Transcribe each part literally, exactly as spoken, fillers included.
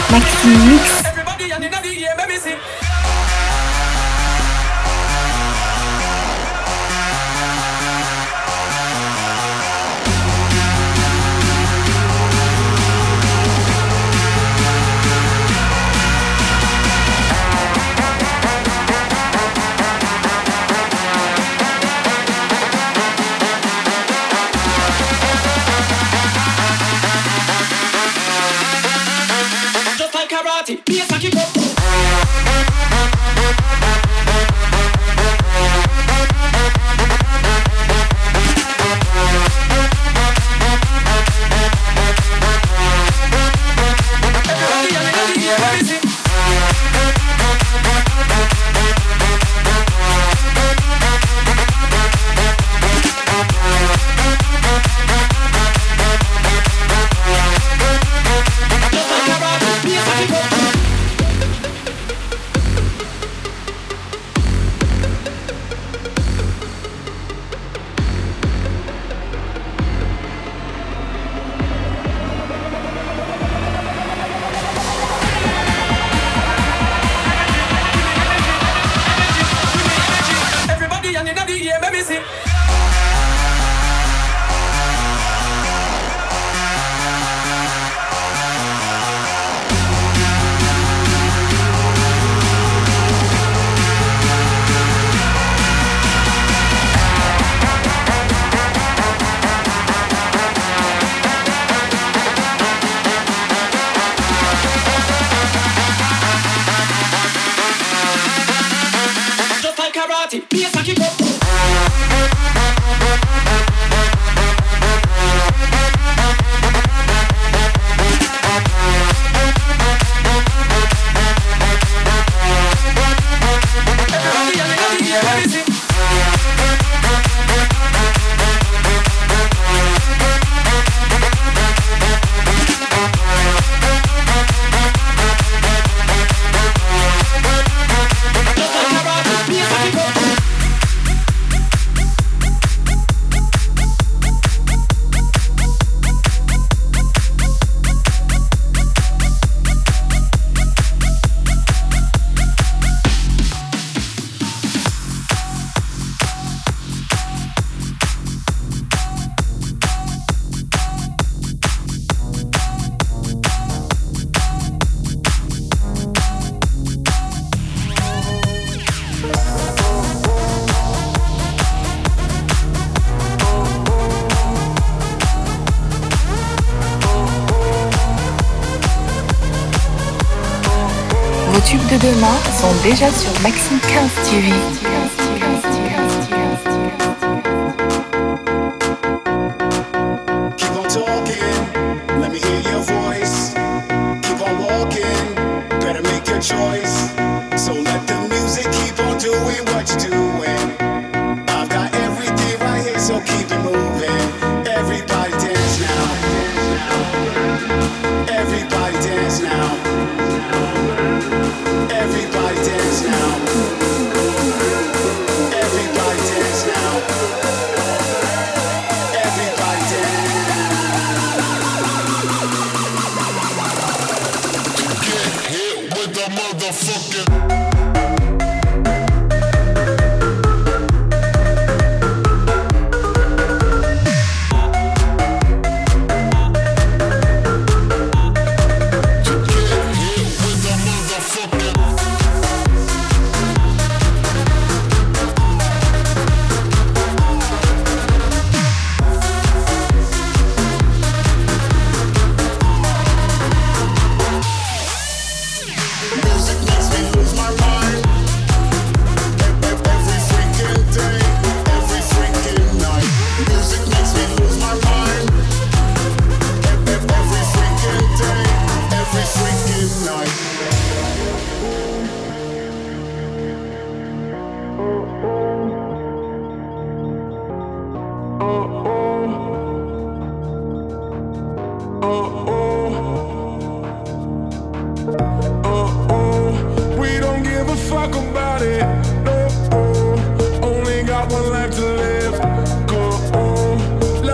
Maxime Mix. Everybody and in the air, let me see. Just like karate, be a saki go. Everybody and in the air, let me see. Just like karate, be a saki go. Everybody and in the air, let me see. Just like karate, be a saki go. Everybody and in the air, let me see. Just like karate, be a saki go. Vos tubes de demain sont déjà sur Maxime quinze T V. Keep on talking, let me hear your voice. Keep on walking, better make your choice. So let the music keep on doing what you're doing. I've got everything right here, so keep it moving. Everybody dance now. Everybody dance now. Everybody dance now. Everybody dance now. Everybody dance. Get hit with the motherfucking.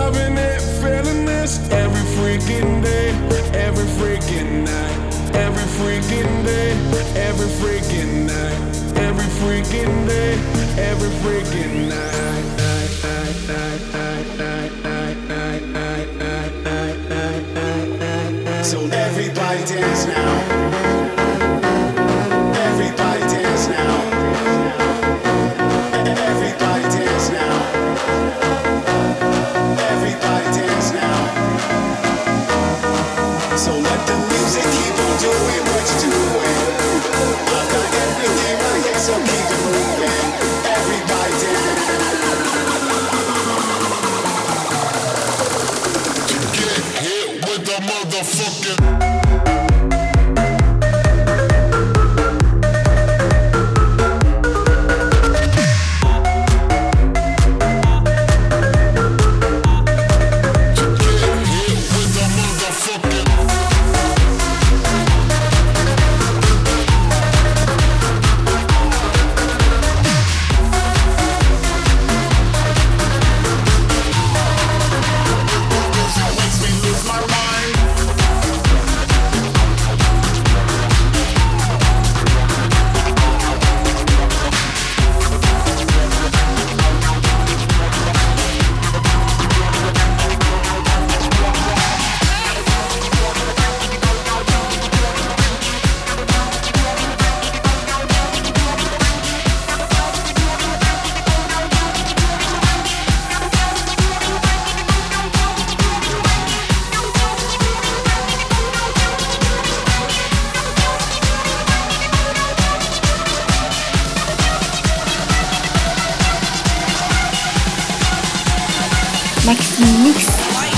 freaking day, every freaking night, every freaking day, every freaking night, every freaking day, every freaking night, night, night, night, night, night, night, night, night, night, night, night, night, night. So everybody dance now. Everybody dance now. Everybody dance now. Everybody dance now. So let the music keep on doing what you're doing. I got everything right here, so keep it moving. Everybody dance. To get hit with the motherfucking. Maxime Mix.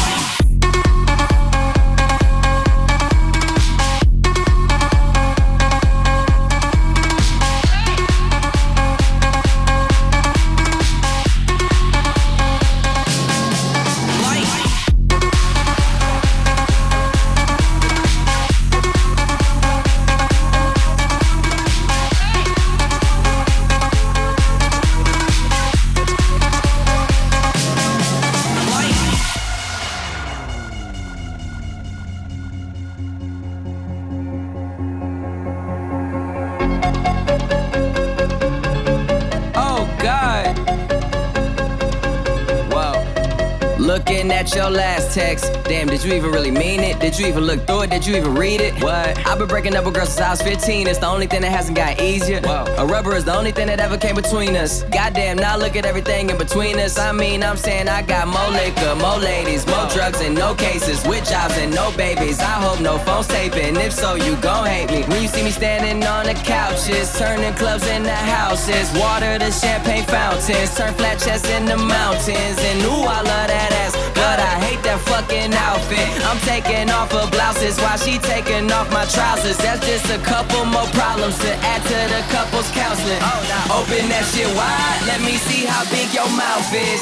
Looking at your last text. Damn, did you even really mean it? Did you even look through it? Did you even read it? What? I've been breaking up with girls since I was fifteen. It's the only thing that hasn't got easier. Whoa. A rubber is the only thing that ever came between us. Goddamn, now look at everything in between us. I mean, I'm saying I got more liquor, more ladies, more drugs and no cases, with jobs and no babies. I hope no phone's taping. If so, you gon' hate me. When you see me standing on the couches, turning clubs into houses, water to champagne fountains, turn flat chests into mountains. And ooh, I love that ass, but I hate that fucking outfit. I'm taking off her blouses while she taking off my trousers. That's just a couple more problems to add to the couple's counseling. Oh, nah. Open that shit wide, let me see how big your mouth is.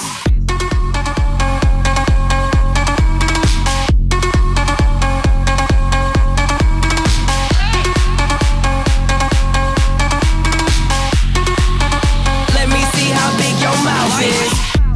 Let me see how big your mouth is.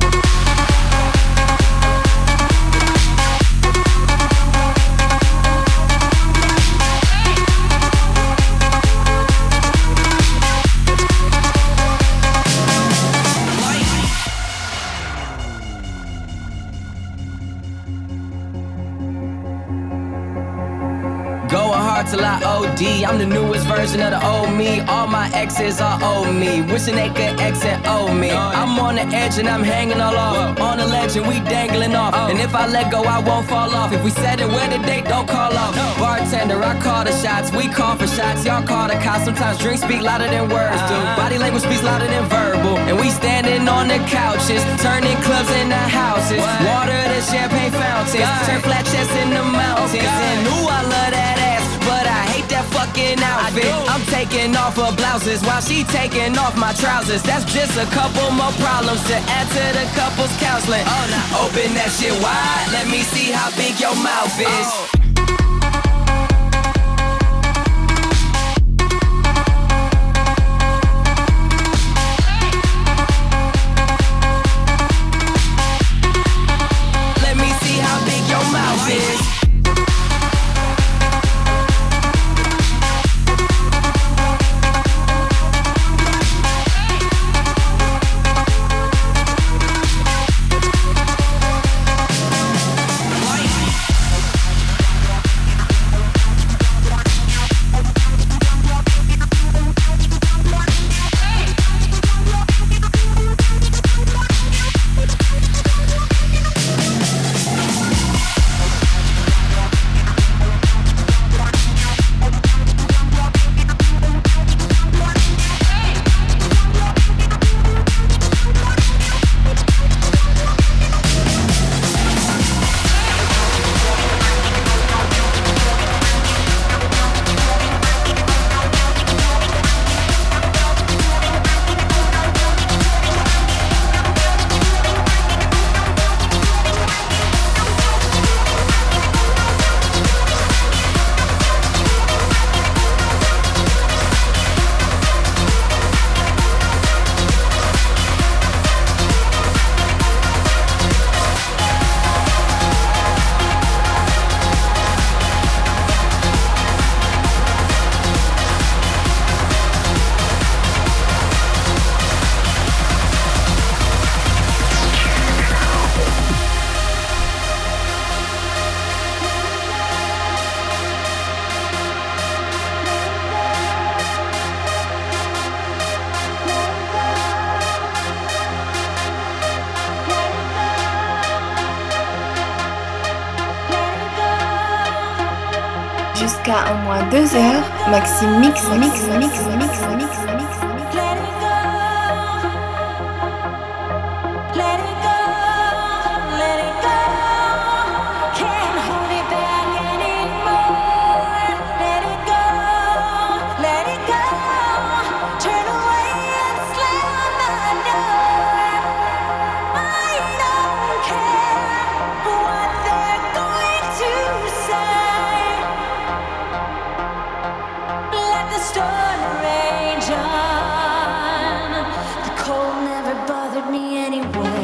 Till I O D, I'm the newest version of the old me. All my exes are old me, wishing they could X and O me. I'm on the edge and I'm hanging all off. On the ledge and we dangling off. And if I let go, I won't fall off. If we said it, where the date, don't call off. Bartender, I call the shots, we call for shots. Y'all call the cops. Sometimes drinks speak louder than words do. Body language speaks louder than verbal. And we standing on the couches, turning clubs into houses, water to champagne fountains, turn flat chests into mountains. And ooh, I love that ass, but I hate that fucking outfit. I'm taking off her blouses while she taking off my trousers. That's just a couple more problems to add to the couple's counseling. Oh, nah. Open that shit wide, let me see how big your mouth is. Oh. Jusqu'à au moins deux heures, Maxime mix, mix, mix, mix, mix, mix. Let it go. Let it go. Let it go. Can't hold it back anymore. Let it go. Let it go. Turn away and slam the door. I don't care what they're going to say. Let the storm rage on. The cold never bothered me anyway.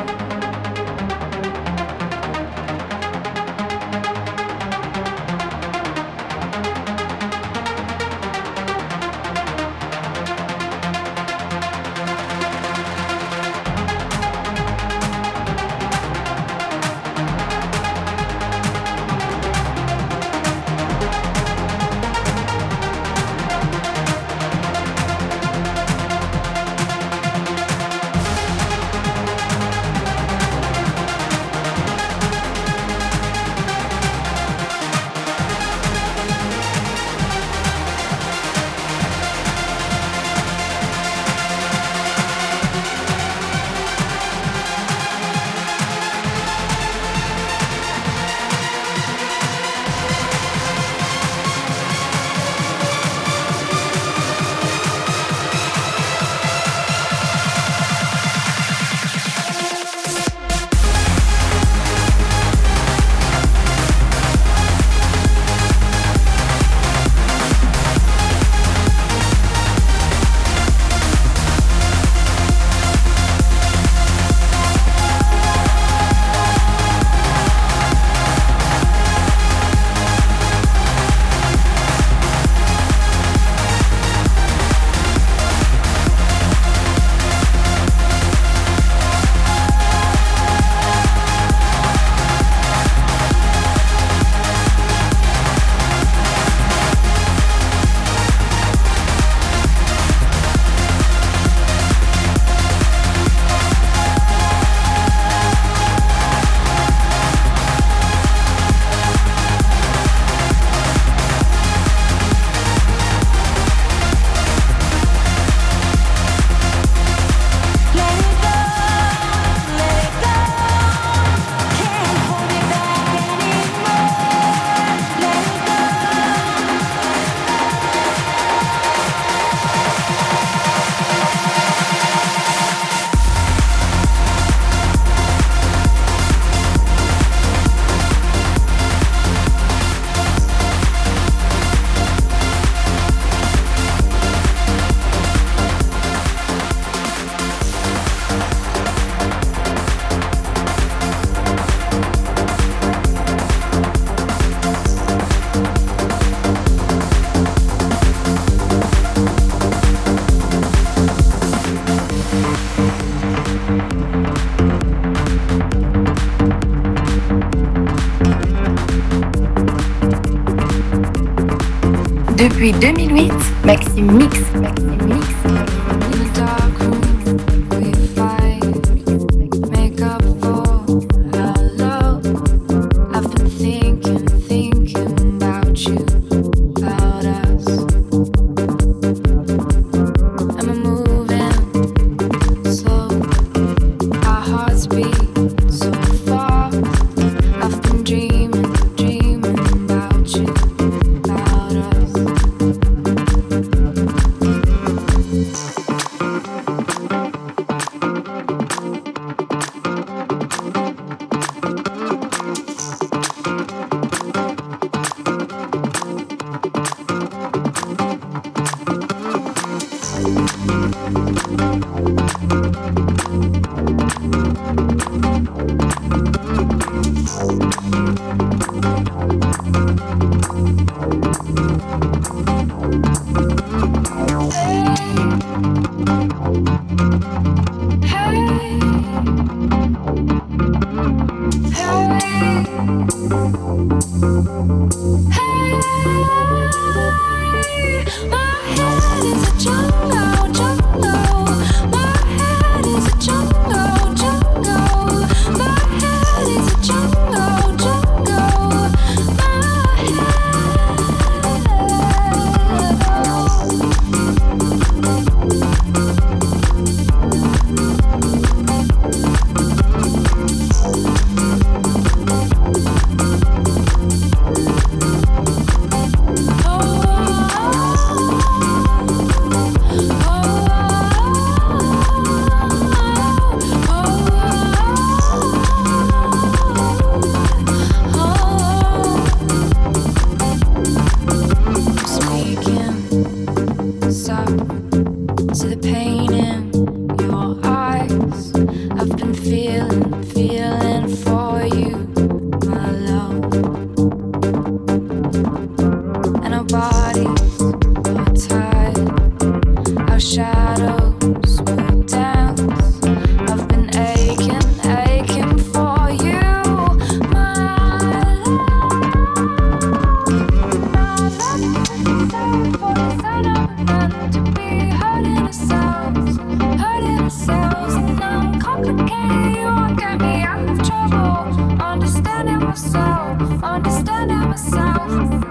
Depuis deux mille huit, Maxime mix, Maxime mix, Maxime mix. soul, understanding myself.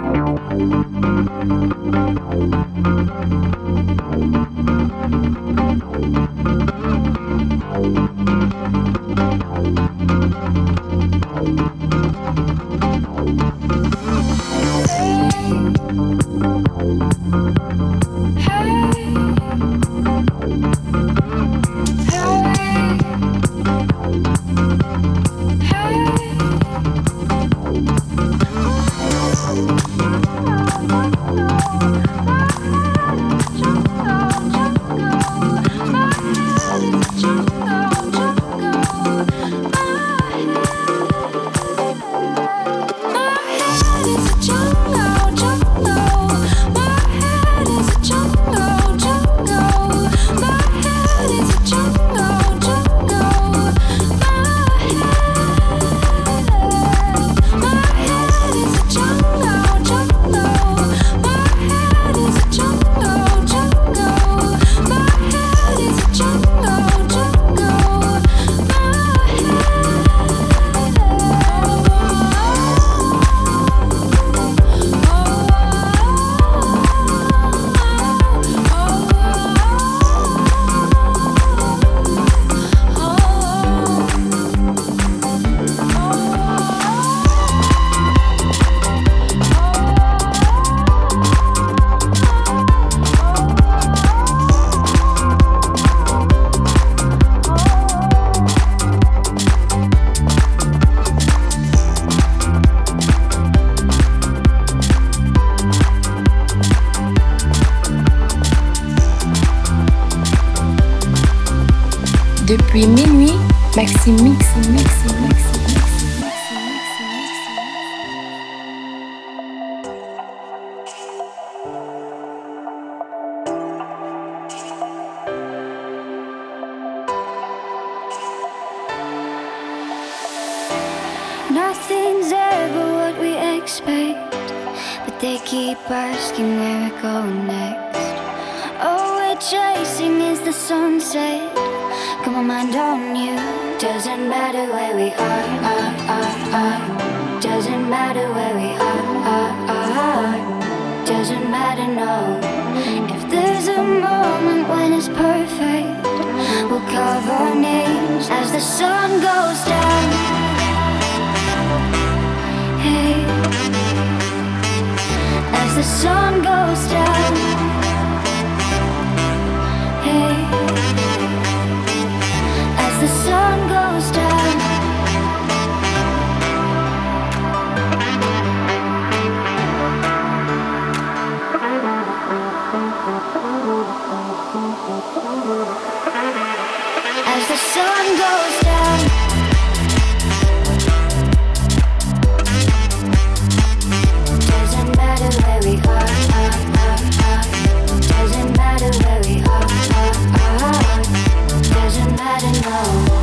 Depuis minuit, Maxime Mix, Mix, Mix, Mix. Nothing's ever what we expect, but they keep asking where we're going next. All we're chasing is the sunset. Got my mind on you. Doesn't matter where we are, are, are, are. Doesn't matter where we are, are, are. Doesn't matter, no. If there's a moment when it's perfect, we'll carve our names as the sun goes down. Hey, as the sun goes down. Hey, as the sun goes down. As the sun goes down. Doesn't matter where we are, are, are, are. Doesn't matter where we are, are, are. Doesn't matter, no.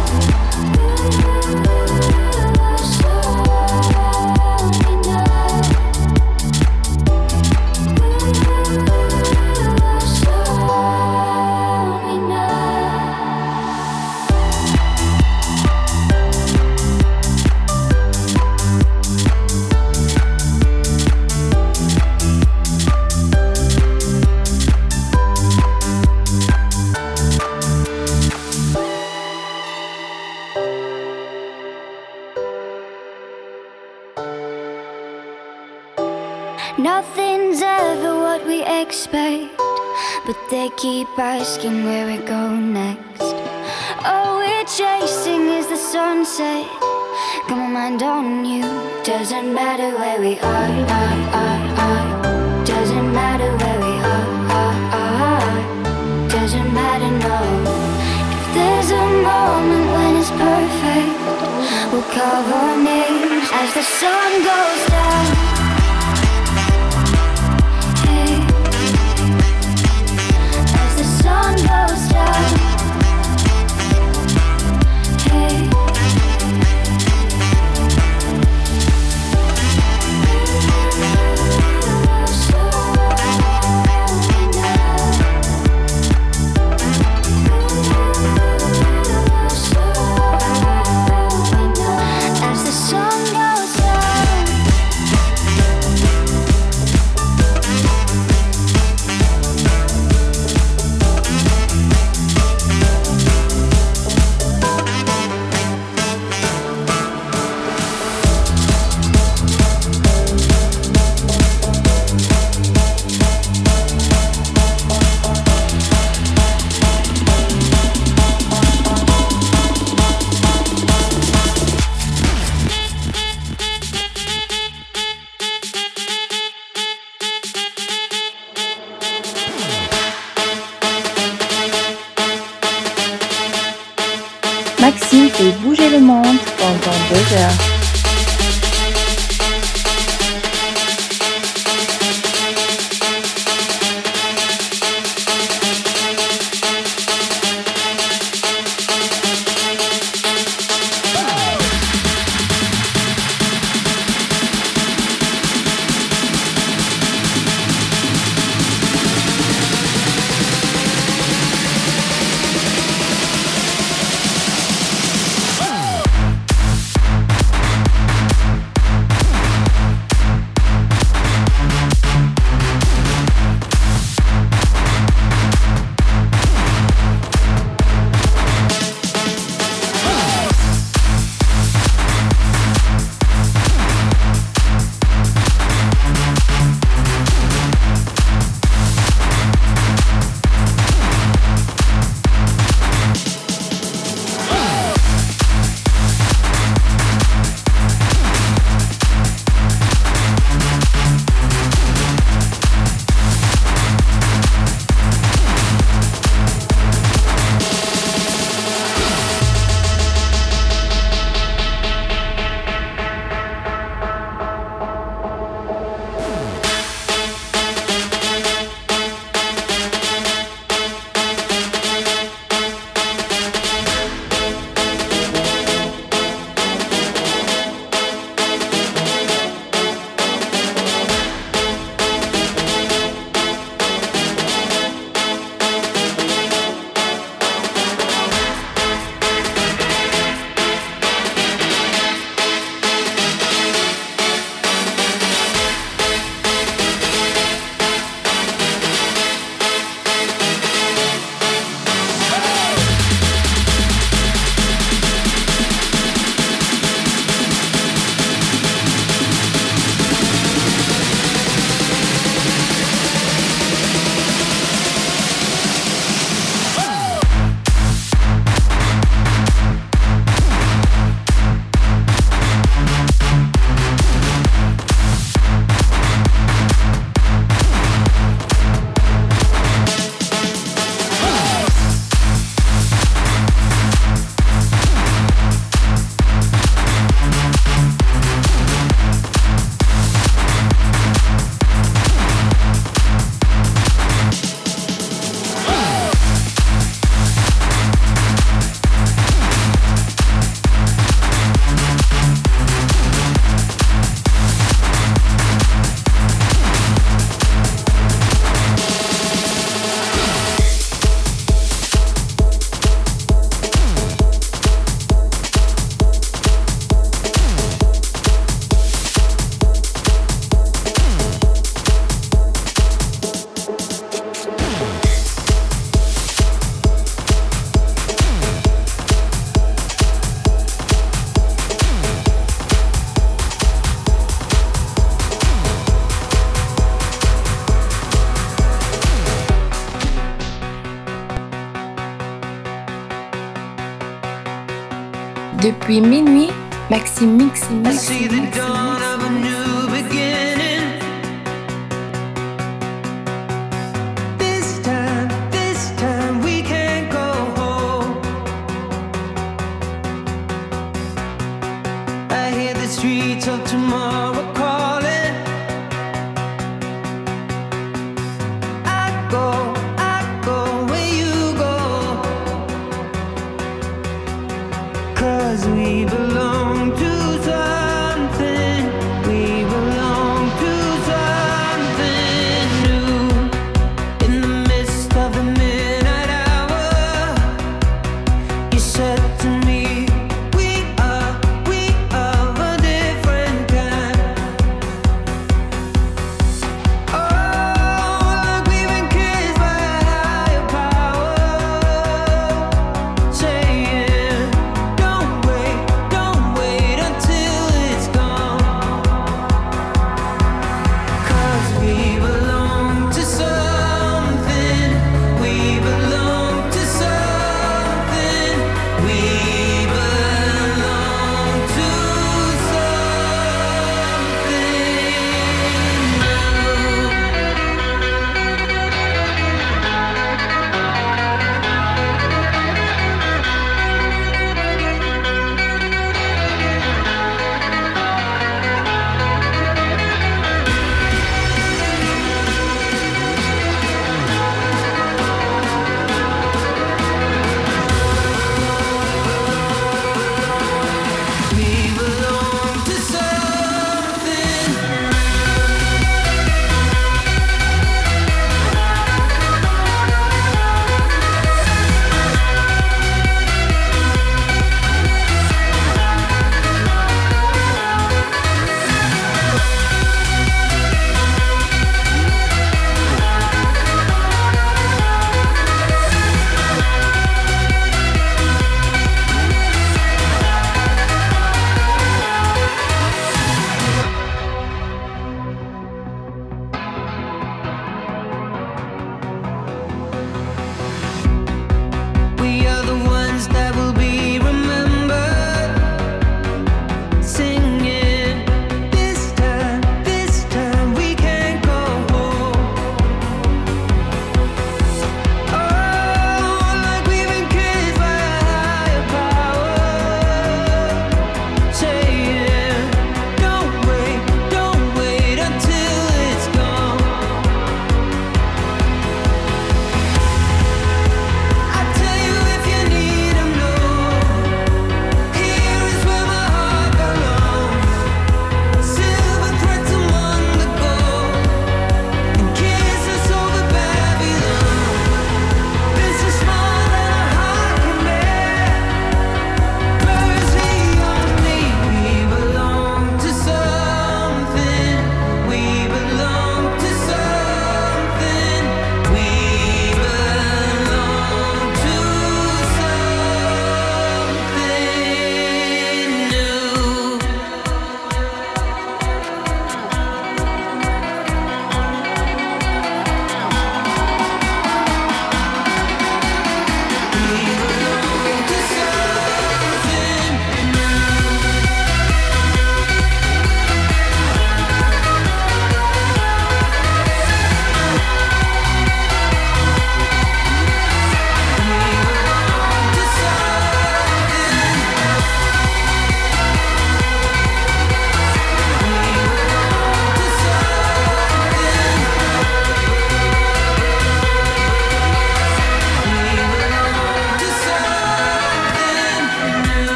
Nothing's ever what we expect, but they keep asking where we go next. All we're chasing is the sunset. Got my mind on you. Doesn't matter where we are, are, are, are. Doesn't matter where we are, are, are. Doesn't matter, no. If there's a moment when it's perfect, we'll carve our names as the sun goes down. Sun goes down. Hey. As the sun goes down. Maxime fait bouger le monde pendant deux heures. Depuis minuit, Maxime Mix, Maxime Mix, Streets of tomorrow calling. I go, I go where you go. 'Cause we belong to something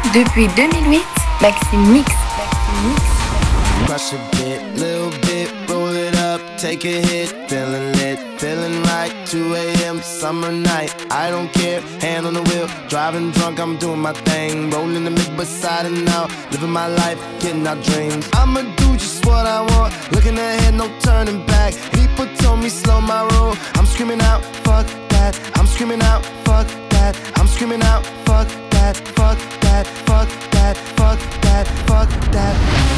Depuis deux mille huit, Maxime Mix. Maxime Mix. Crush a bit, little bit, roll it up, take a hit, feeling lit, feeling right, two a.m. summer night, I don't care, hand on the wheel, driving drunk, I'm doing my thing, rolling the mid beside and out, living my life, getting our dreams, I'ma do just what I want, looking ahead, no turning back, people told me slow my roll, I'm screaming out, fuck that, I'm screaming out, fuck that, I'm screaming out, fuck that, fuck that, fuck that, fuck that, fuck that.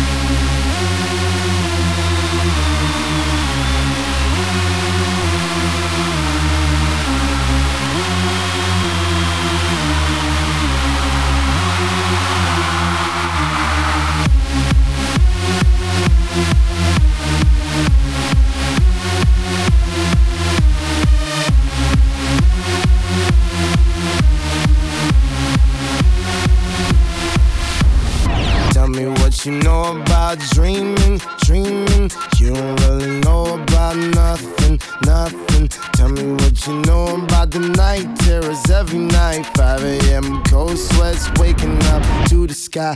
Tell me what you know about dreaming, dreaming. You don't really know about nothing, nothing. Tell me what you know about the night terrors every night. five a.m. cold sweats waking up to the sky.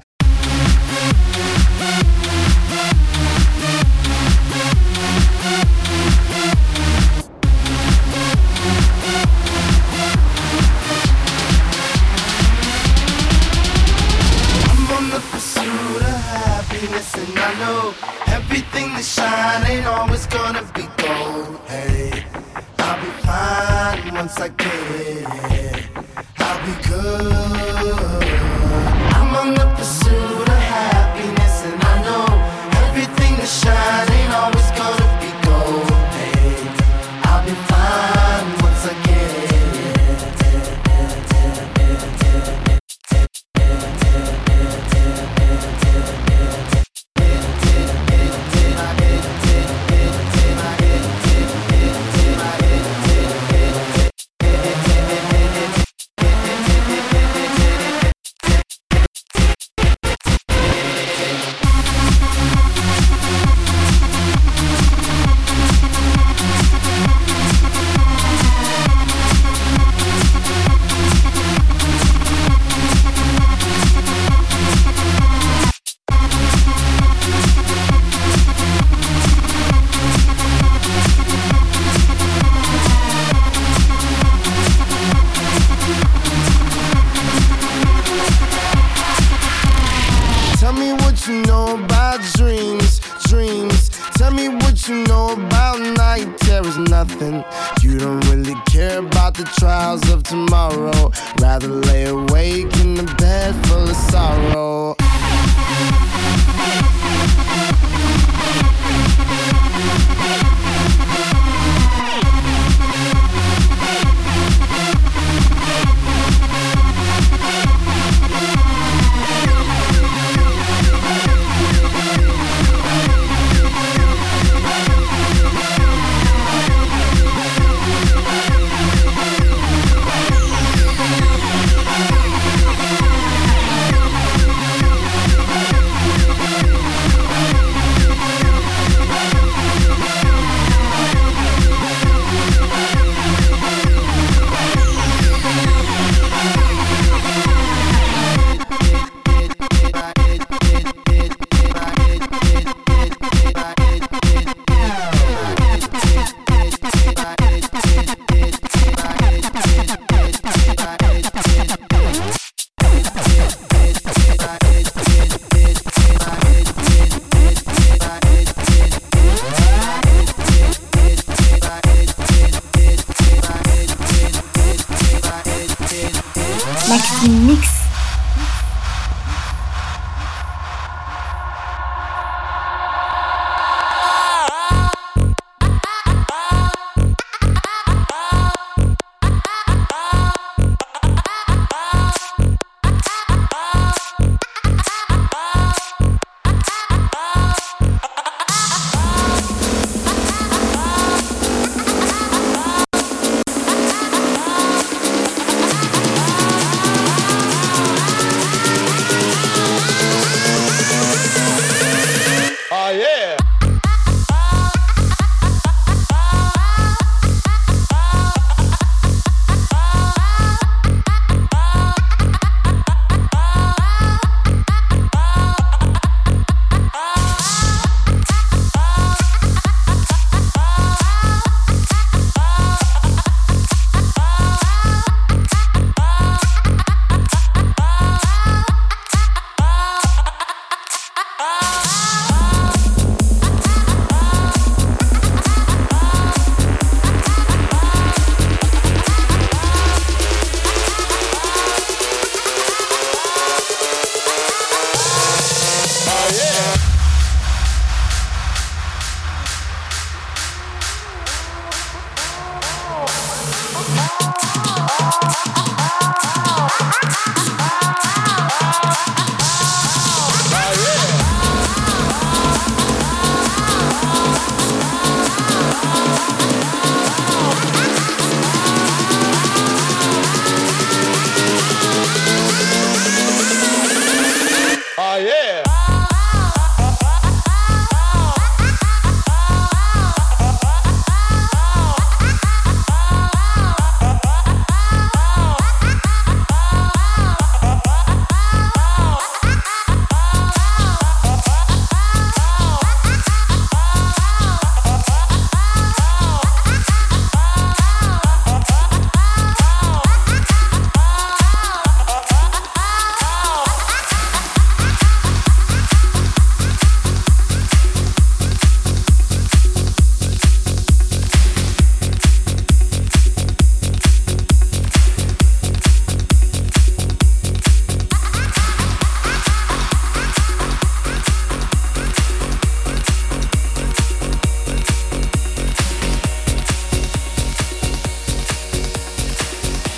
And I know everything that shine ain't always gonna be gold. Hey, I'll be fine once I get it. I'll be good. I'm on the pursuit of happiness, and I know everything that shine ain't always gonna be gold. Hey, I'll be fine once I get it. Tell me what you know about dreams, dreams. Tell me what you know about night terrors, nothing. You don't really care about the trials of tomorrow. Rather lay awake in the bed full of sorrow. Maxime Mix.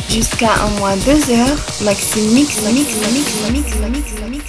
Jusqu'à un moins deux heures, Maxime Mix, Mix, Mix, Mix, Mix, Mix, Mix.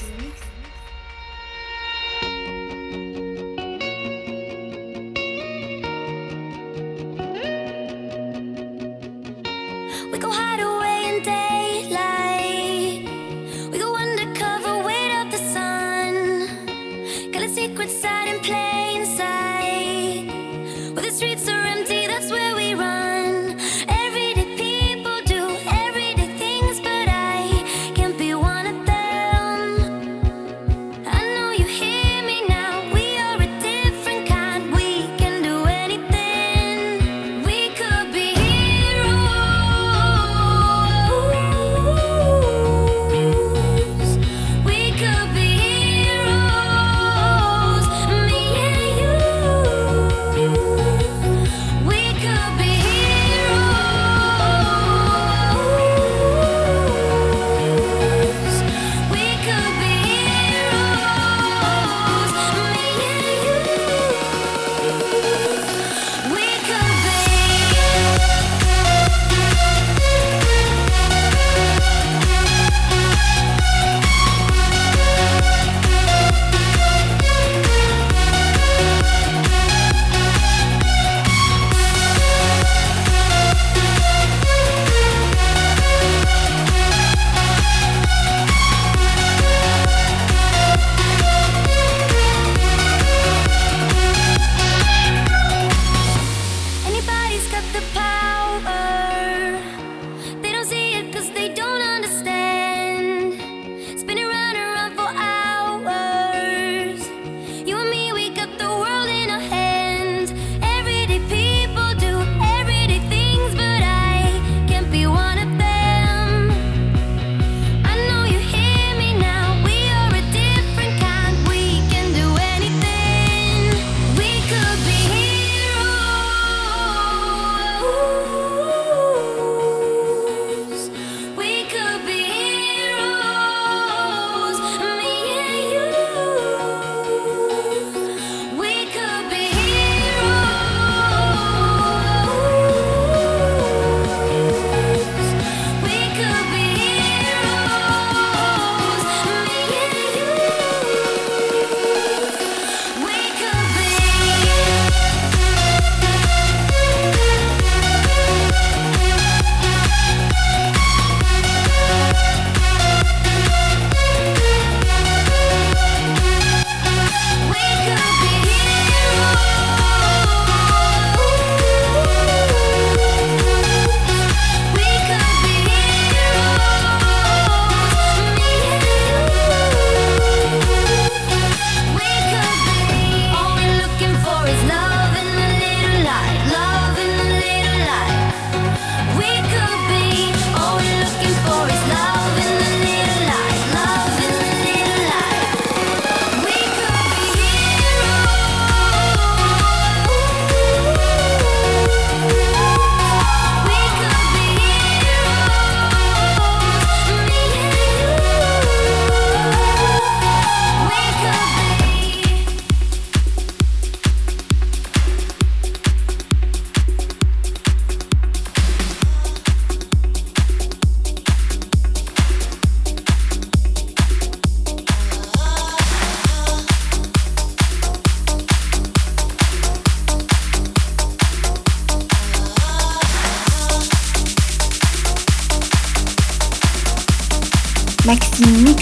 Maxime Mix.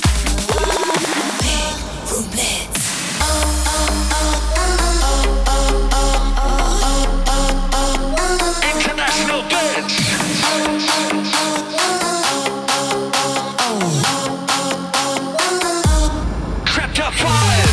International dance. Crept up five.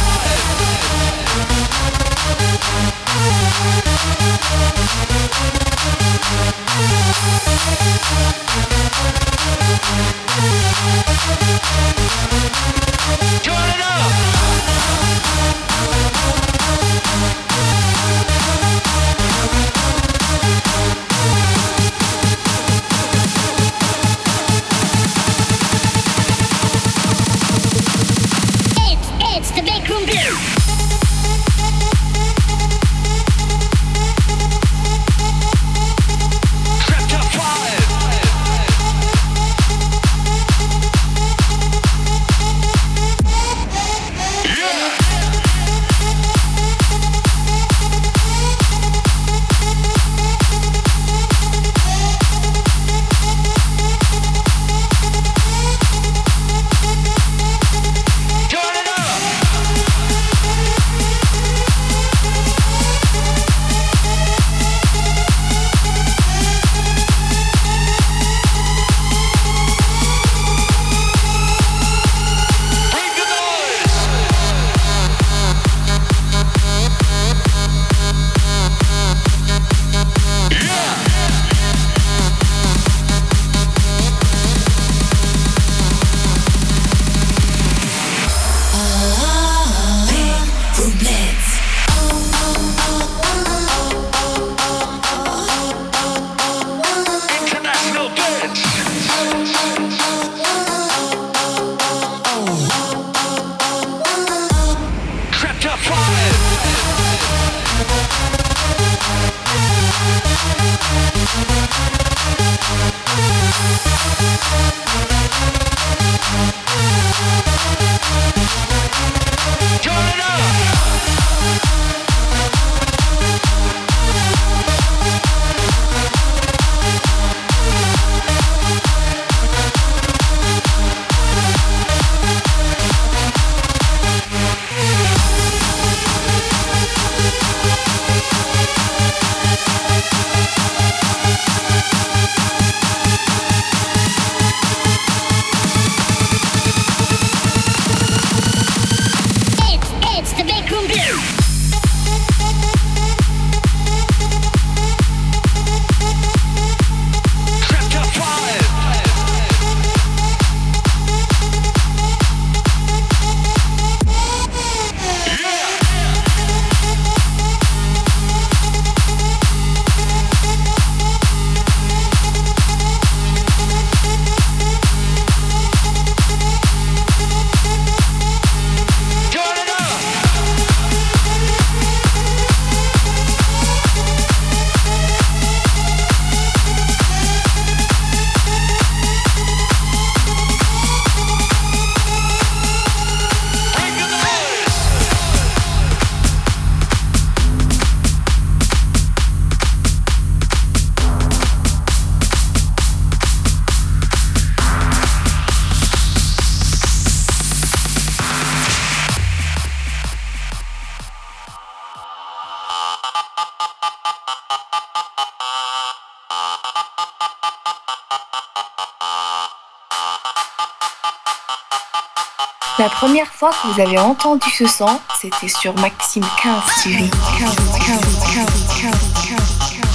La première fois que vous avez entendu ce son, c'était sur Maxime quinze T V. quinze, quinze, quinze, quinze, quinze, quinze.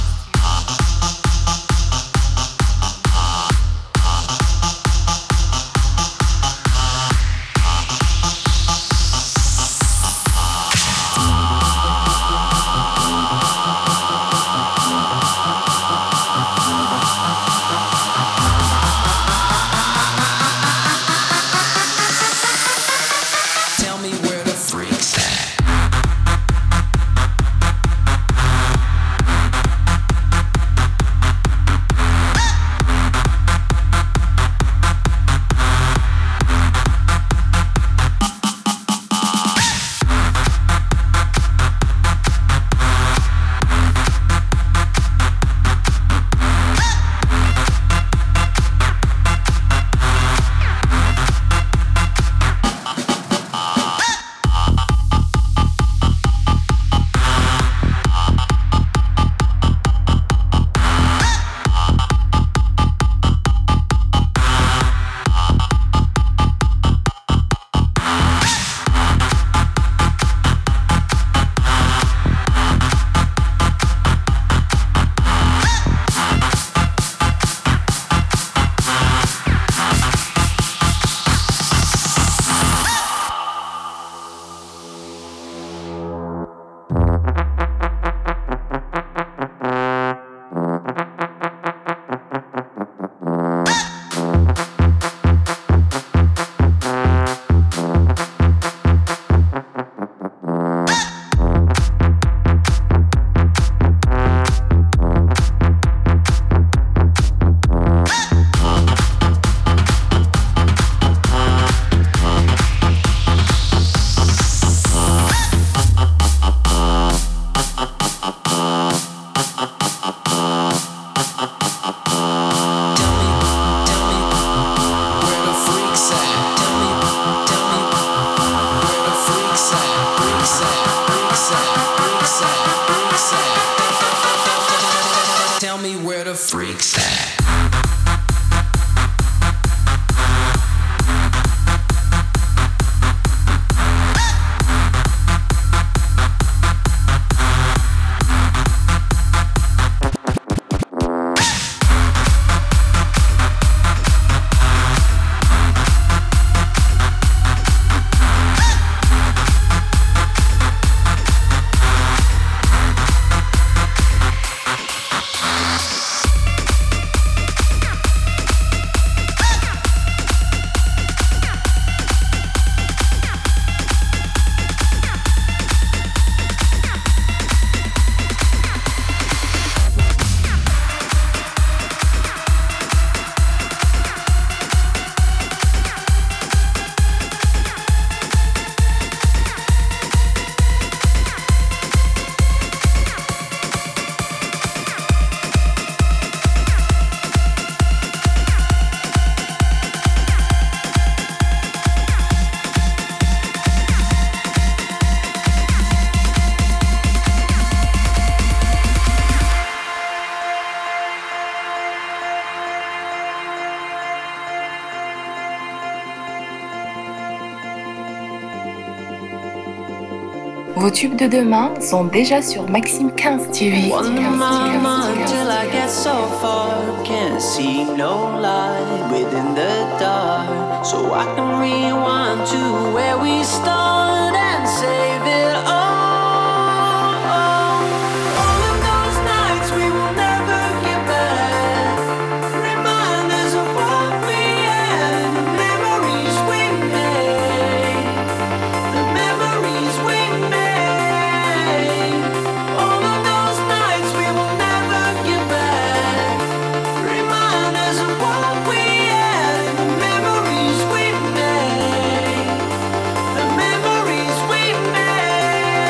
Vos tubes de demain sont déjà sur Maxime quinze T V. Wonder my mind till I get so far. Can't see no light within the dark. So I can rewind to where we start and save it all. All of those nights we will never get back. Reminders of what we had, the memories we made, the memories we made. All of those nights we will never get back. Reminders of what we had, the memories we made, the memories we made.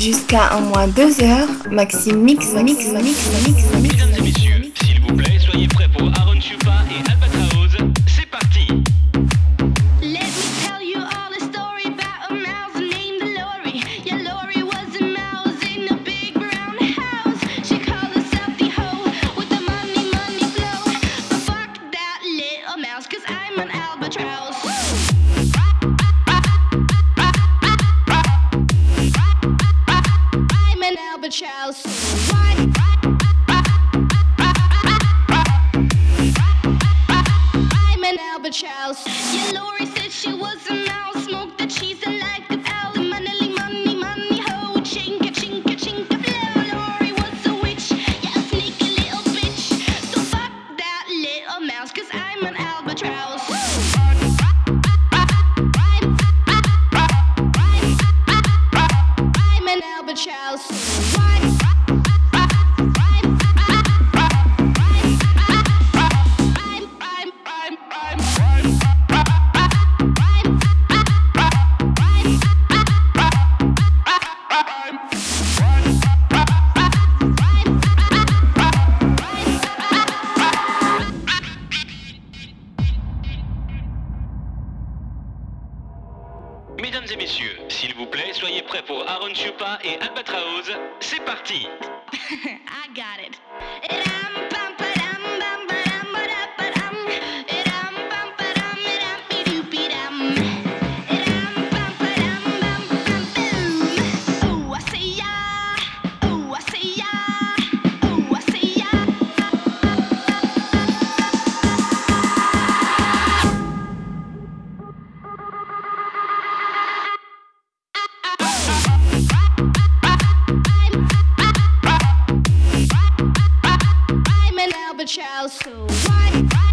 Jusqu'à un moins deux heures, Maxime mix, mix, mix, mix, mix. Mesdames et messieurs, s'il vous plaît, soyez prêts pour Aaron Chupa et Albatraoz. C'est parti. Let me tell you all a story about a mouse named Lori. Yeah, Lori was a mouse in a big brown house. She called herself the hoe with the money, money flow. But fuck that little mouse, cause I'm an albatross. I'm an albatross. Why? I'm an albatross. Yeah, Lori said she was a mouse. Smoked the cheese and like an owl. Money, money, money, ho. Chinka, chinka, chinka, blow. Lori was a witch. Yeah, a sneaky little bitch. So fuck that little mouse, cause I'm an albatross. I'm an albatross. Why? Mesdames et messieurs, s'il vous plaît, soyez prêts pour Aaron Chupa et Albatraoz. C'est parti. I got it. Idam, bum, ba-dum, bum, ba-dum, ba-da-ba-dum. Idam, bum, ba-dum, idam, be-doop-be-dum. Idam, bum, ba-dum, bum, bum, boom. Oh, I say ya. Oh, I say ya. Oh, I say ya. I'm an albatross, so why?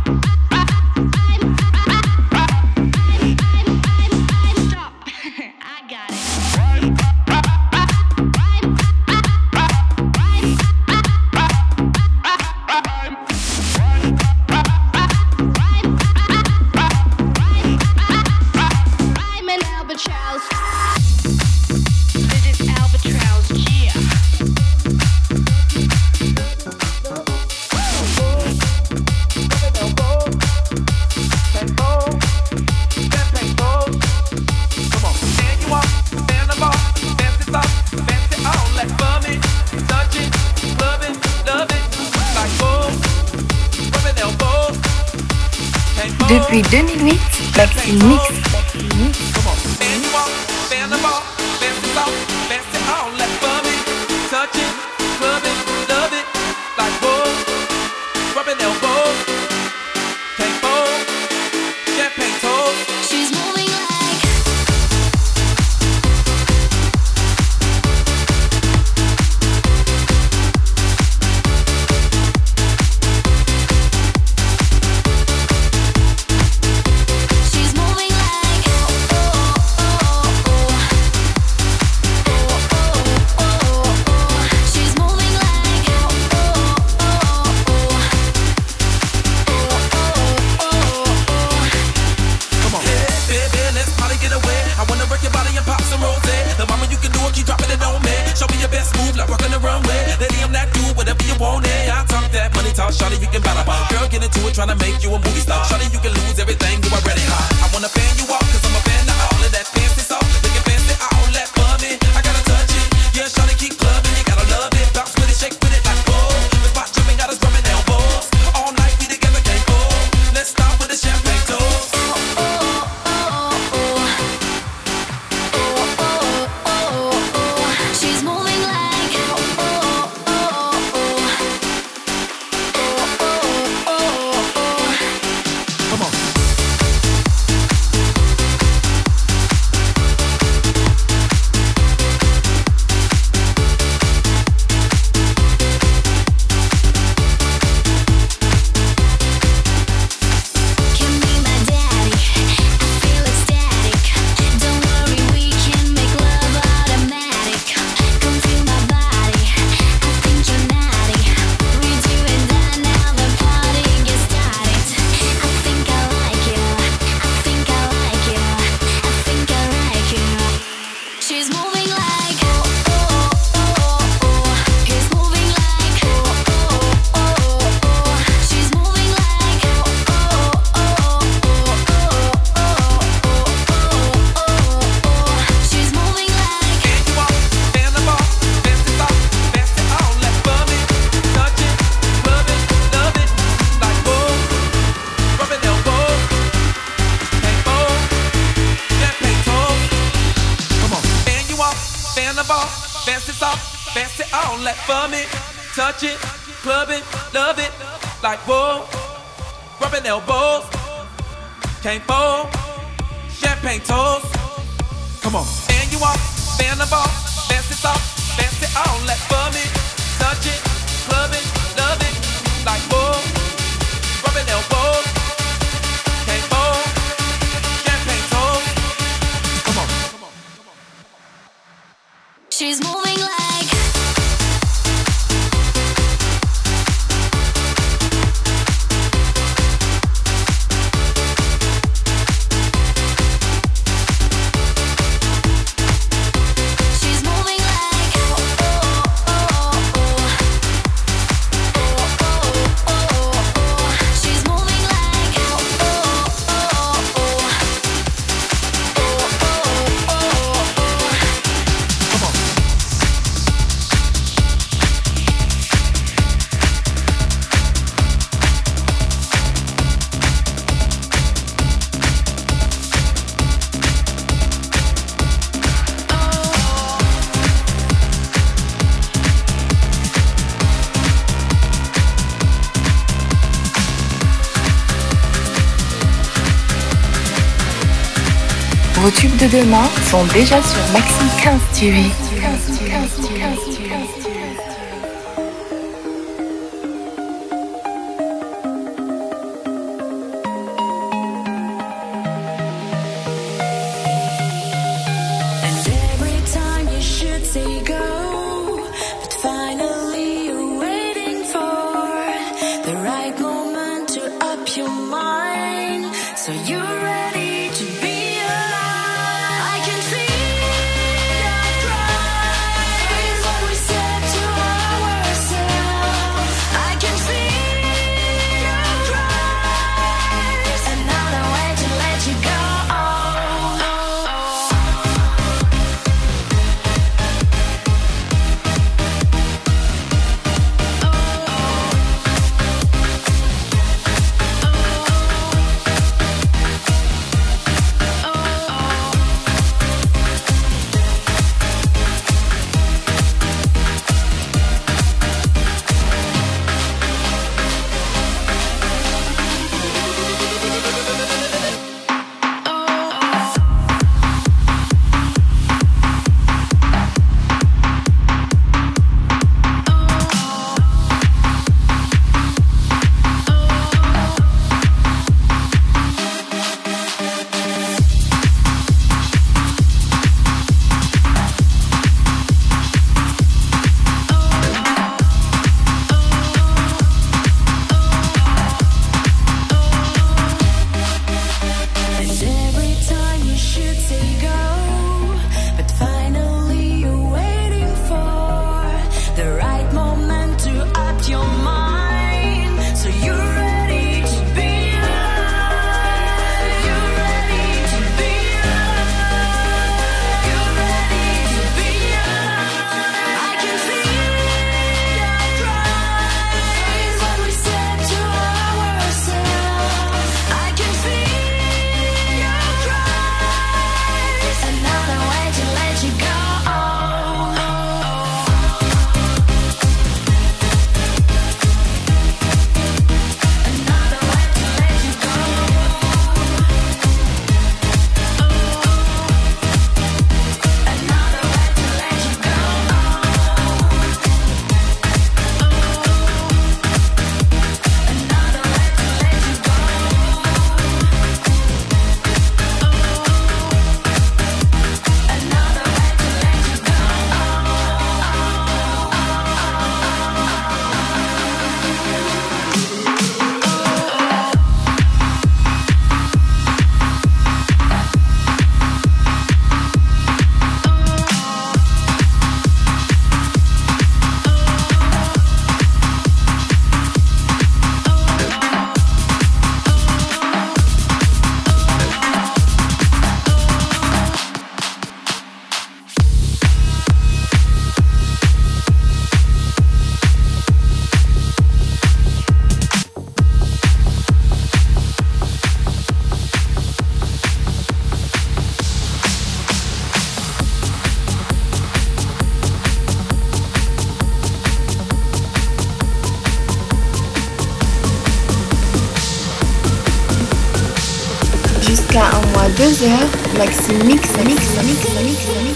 Stop. I got it. I'm an albatross. This is albatross, yeah. Depuis deux mille huit, Maxime mix. She's moving like She's moving like oh oh oh oh oh oh oh oh. She's moving like oh oh oh oh oh oh oh. Come on. Hey, baby, let's party, get away. I wanna work your body and pop some rose. The mama, you can do it, keep dropping it on me. Show me your best move, like walking the runway. Lady, I'm that dude, whatever you want, eh. I talk that money talk, shawty, you can battle. Girl, get into it, tryna make you a movie star. Shawty, you can lose everything, you already hot. I wanna fan you off, cause I'm a fan of all of that fancy stuff. Looking fancy, all that for me. I gotta touch it. Yeah, shawty, keep clubbing, you gotta love it. Bounce with it, shake with it like oh. The spot jumping, got us rubbing elbows. All night, we together, can't go. Let's start with the champagne toast. She's moving like oh oh oh oh oh oh oh. Come on. on, let for me. Touch it, club it, love it. Like whoa, rubbing elbows. Can't fold, champagne toast. Come on, and you off, fan the ball, dance it off, dance it on, let for me. Touch it, club it, love it. Like whoa, rubbing elbows. Can't fold, champagne toast. Come on, come on, come on. She's moving like Vos tubes de demain sont déjà sur Maxime quinze T V. Jusqu'à un mois deux heures, Maxime mix, mix, mix, mix, mix, mix, mix.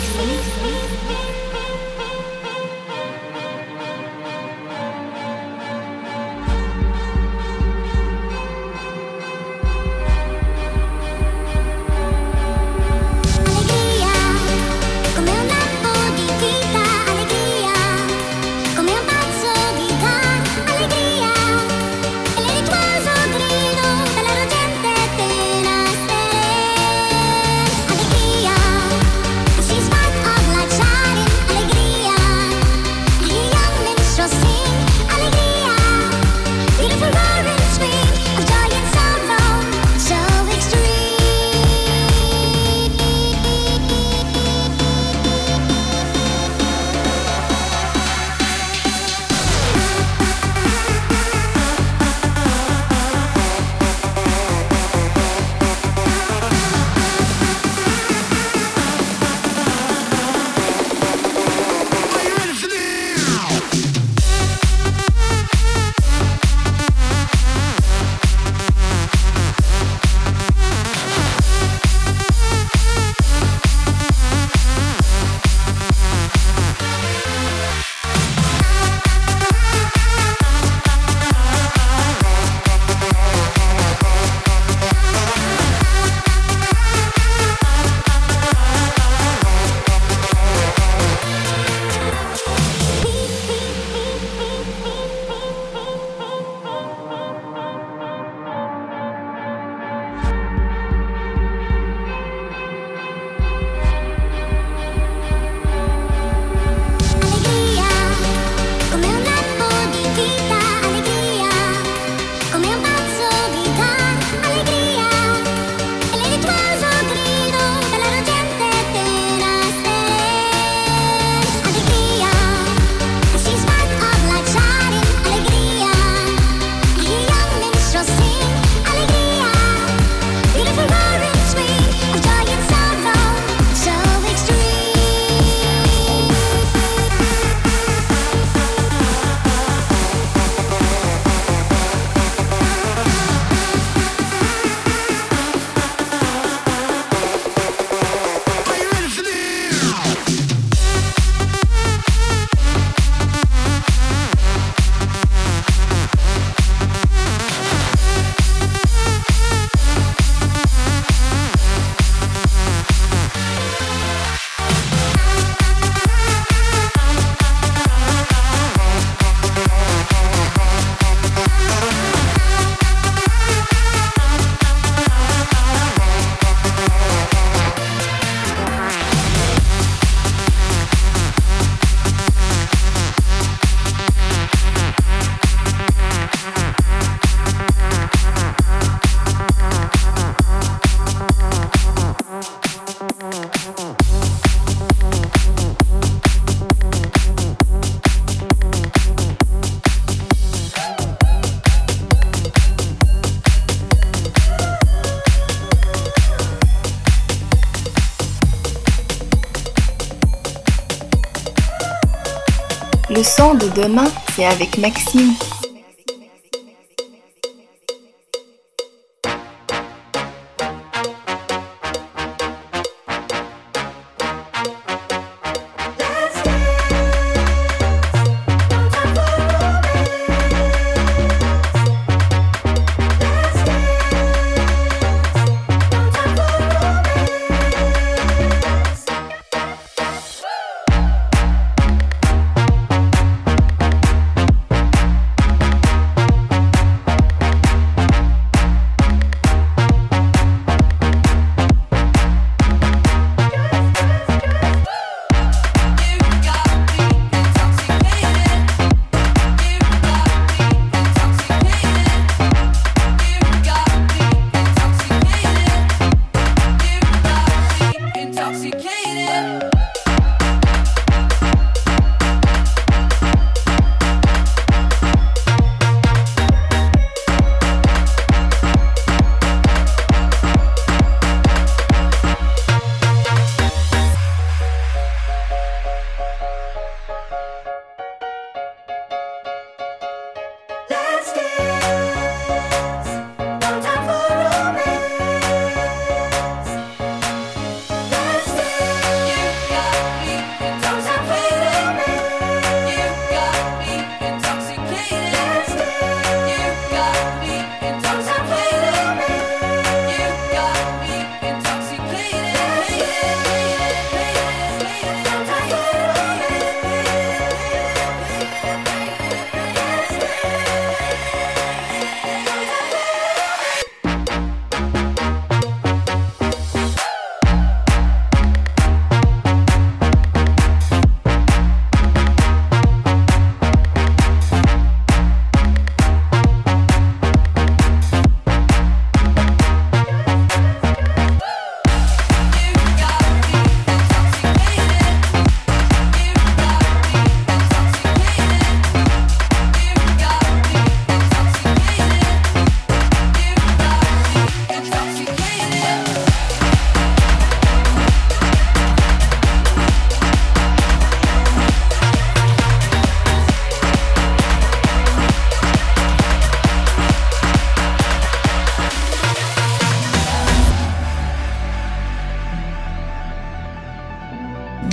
Le son de demain, c'est avec Maxime.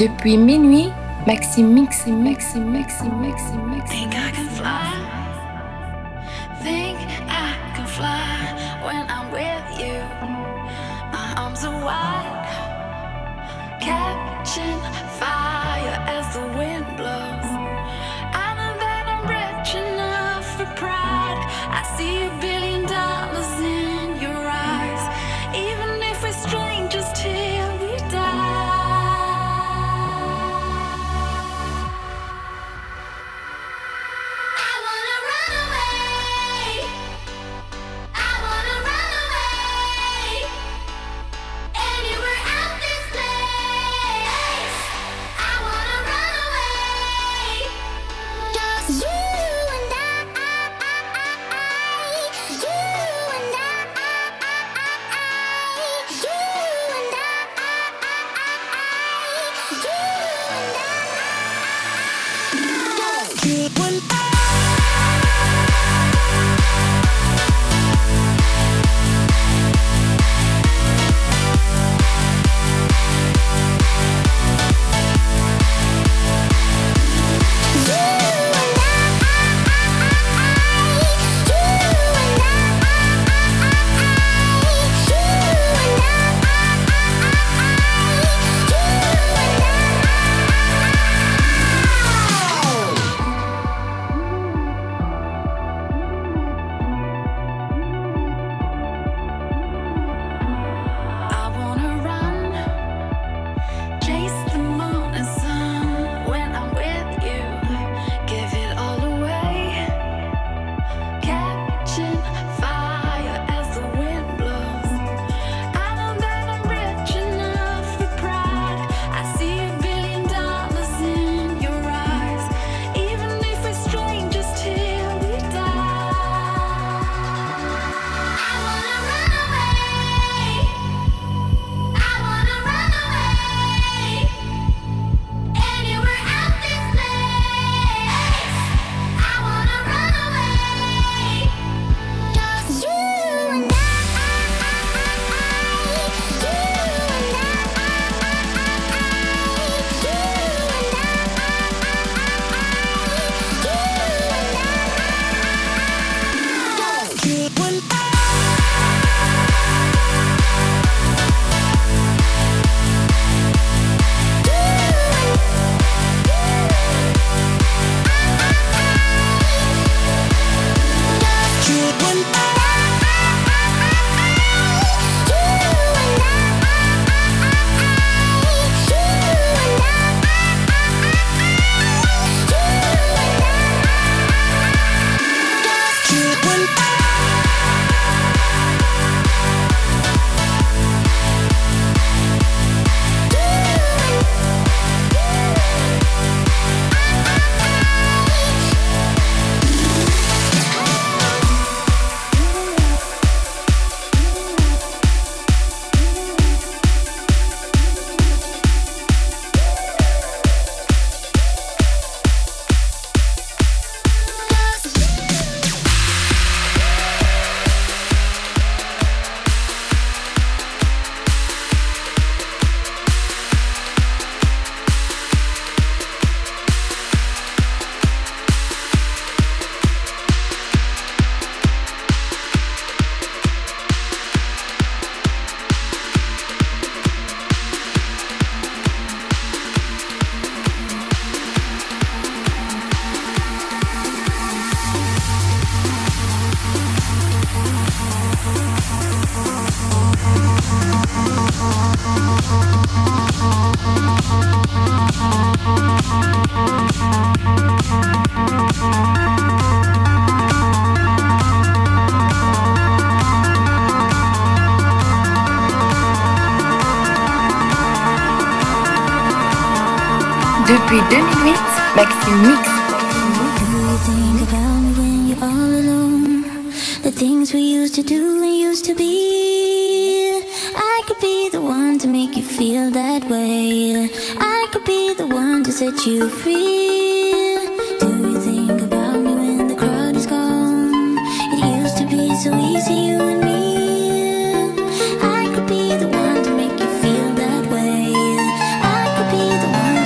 Depuis minuit, Maxime Mix, Maxime, Maxime, Maxime, Maxime. Think I can fly. Think I can fly when I'm with you. My arms are wide, catching fire as the wind blows. I know that I'm rich enough for pride. I see a billion dollars in your eyes, even if we're strangers till we die. Depuis deux mille huit, Maxime Mix. Think about me when you're all alone. The things we used to do and used to be. I could be the one to make you feel that way. I could be the one to set you free. Do you think about me when the crowd is gone? It used to be so easy, you and me. I could be the one to make you feel that way. I could be the one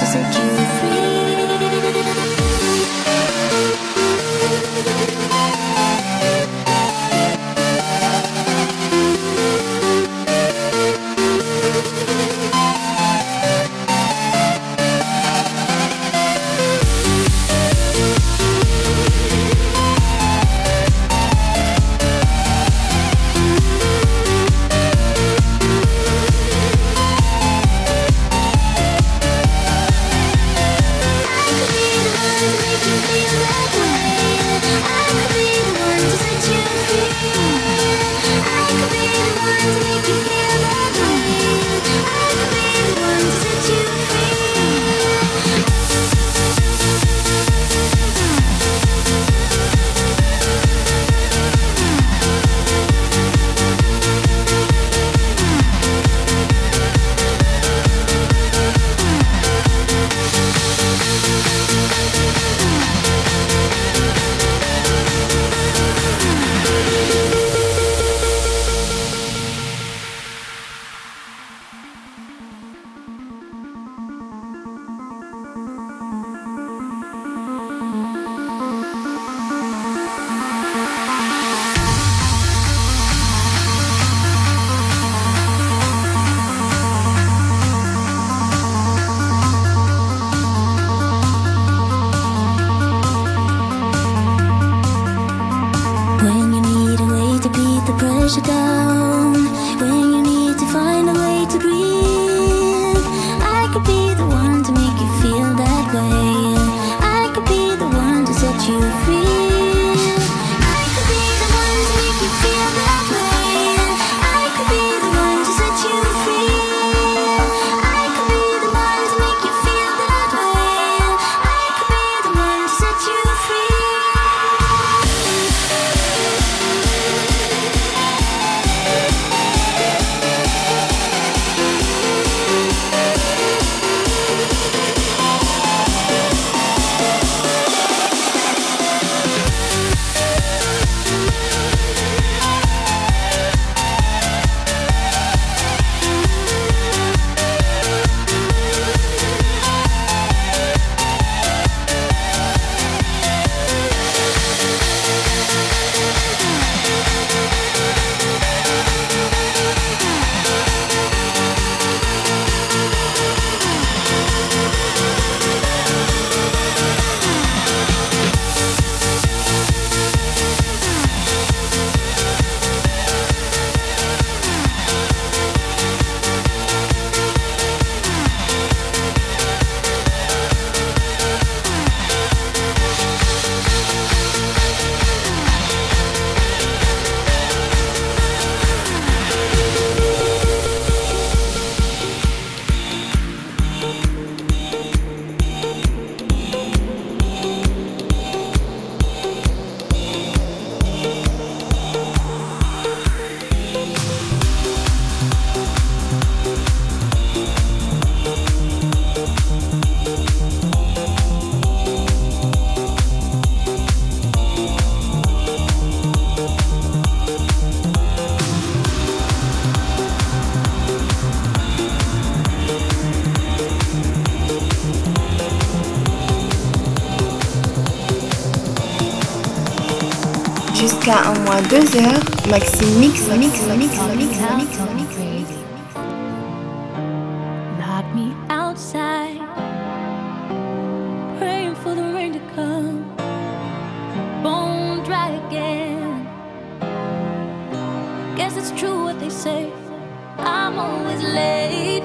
Jusqu'à un mois deux heures, Maxime mix, mix, mix, mix, mix, mix. Lock me outside, praying for the rain to come. Bone dry again. Guess it's true what they say, I'm always late.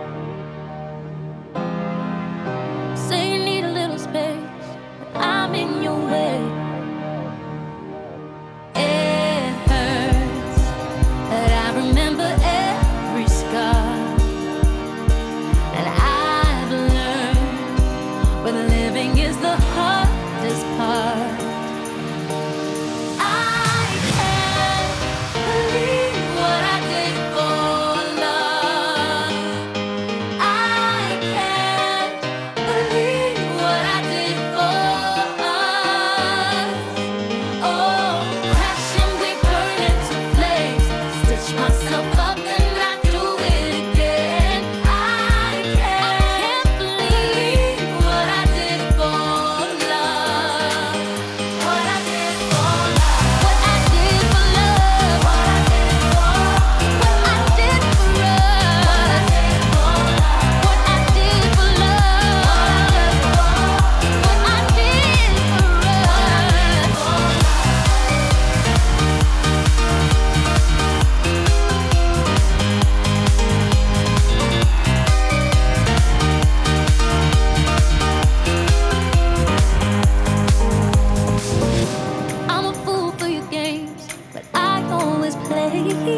Say you need a little space, but I'm in your way. It hurts, but I remember every scar. And I've learned when living is the hardest part. I can't believe what I did for love. I can't believe what I did for us. Oh, crashing, we burn into flames. Stitch myself up and I do it again. I can't believe what I did for love. What I did for love. What I did for love. What I did for What I did for us. What I did for love. What I did for us. I'm a fool for your games, but I always play.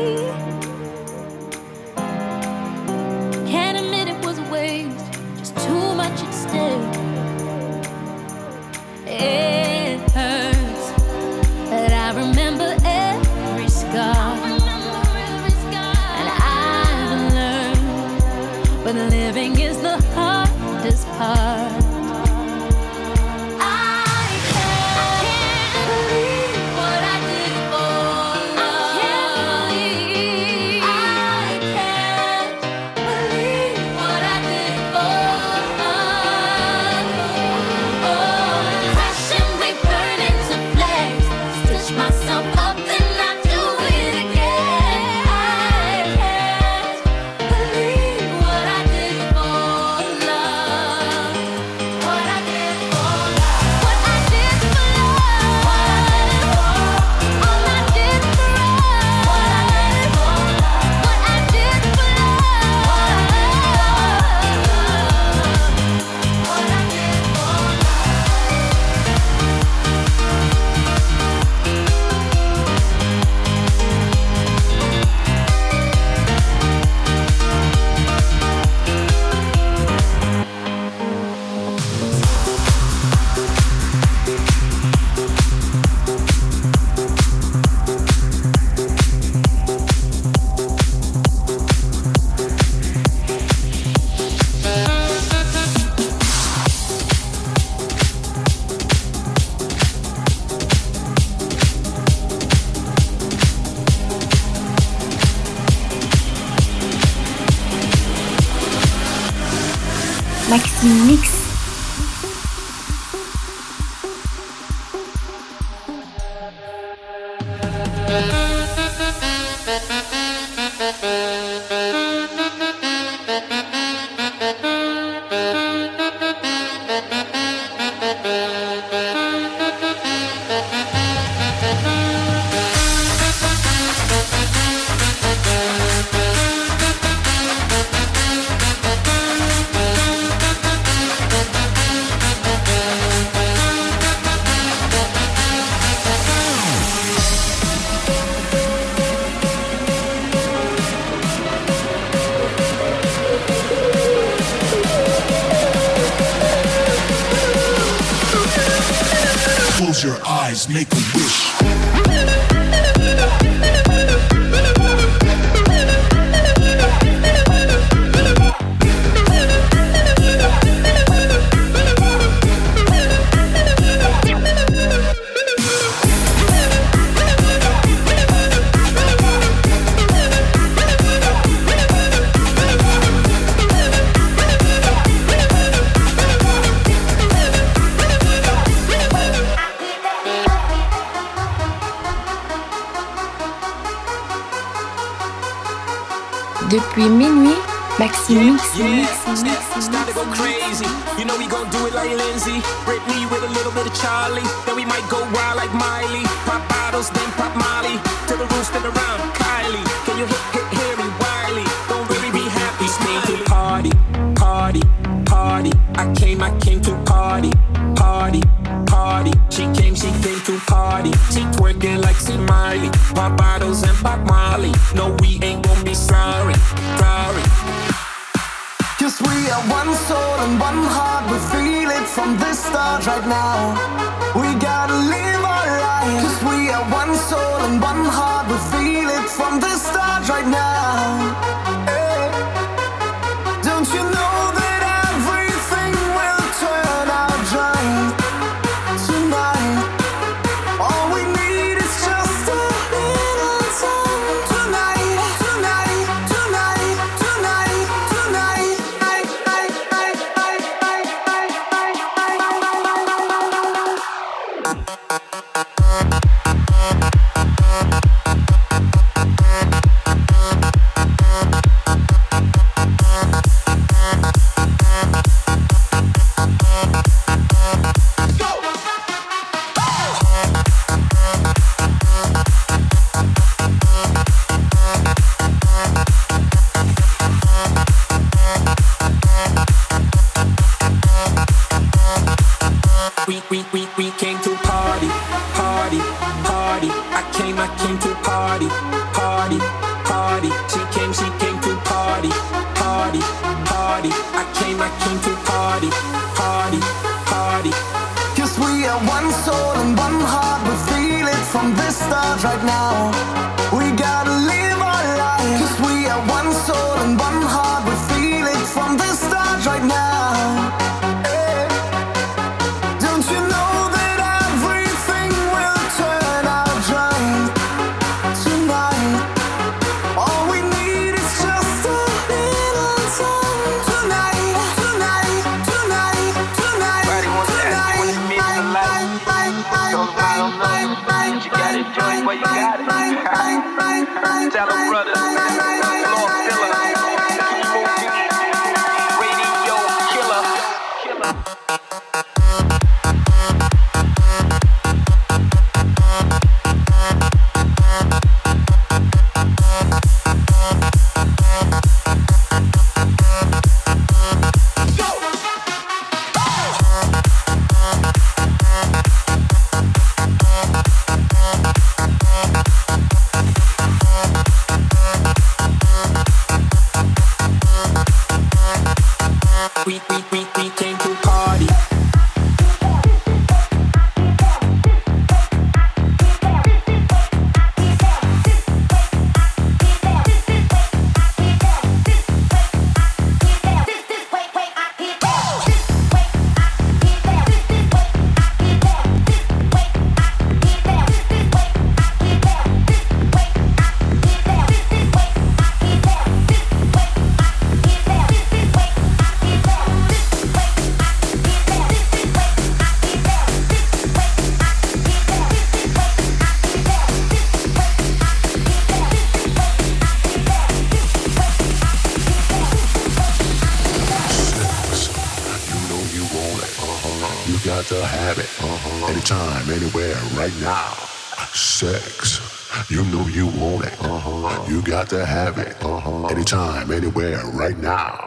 Can't admit it was a waste, just too much at stake. It hurts, but I remember every scar. And I've learned when living is the hardest part. I can't believe what I did for love. I can't believe what I did for us. Oh, crashing, we burn into flames. Stitch myself up and I do it again. I can't believe what I did for love. What I did for love. What I did for love. All I did for us. What I did for love. What I did for love. What I did for love. Maxime mix. Close your eyes, make a wish. Depuis minuit, Maxime Mix, Yeah, Mix, yeah, Mix, yeah, Mix, start to go Mix. crazy. You know we gon' do it like Lindsay, Britney with a little bit of Charlie. Then we might go wild like Miley. Pop bottles, then pop Molly. Till the roof spin around, Kylie. Can you hit, hit, hear me, Wiley? Don't really be happy, came to party, party, party. I came, I came to party, party, party. She came, she came to party. She twerking like C. Miley. Pop bottles and pop Molly. No, we ain't gon' be sorry, sorry. Cause we are one soul and one heart. We feel it from the start right now. We gotta live our life. Cause we are one soul and one heart. We feel it from the start right now. Hey. Don't you know that everything will turn out right tonight? All we need is just a little time tonight, tonight, tonight, tonight, tonight. We, we, we, we came to party, party, party. I came, I came to party, party, party. She came, she came to party, party, party. I came, I came to party, party, party. Cause we are one soul and one heart. We feel it from the start right now. We gotta live our life. Cause we are one soul and one heart. We feel it from the start right now. Hey. Don't you know that everything will turn out right tonight? All we need is just a little time tonight, tonight, tonight, tonight, tonight. You got it, Joey, well, you got it. Tell them brothers, Lord Filler, Radio Killer. We, we, we, we came to party. got to have it. Uh-huh. Anytime, anywhere, right now. Sex. You know you want it. Uh-huh. You got to have it. Uh-huh. Anytime, anywhere, right now.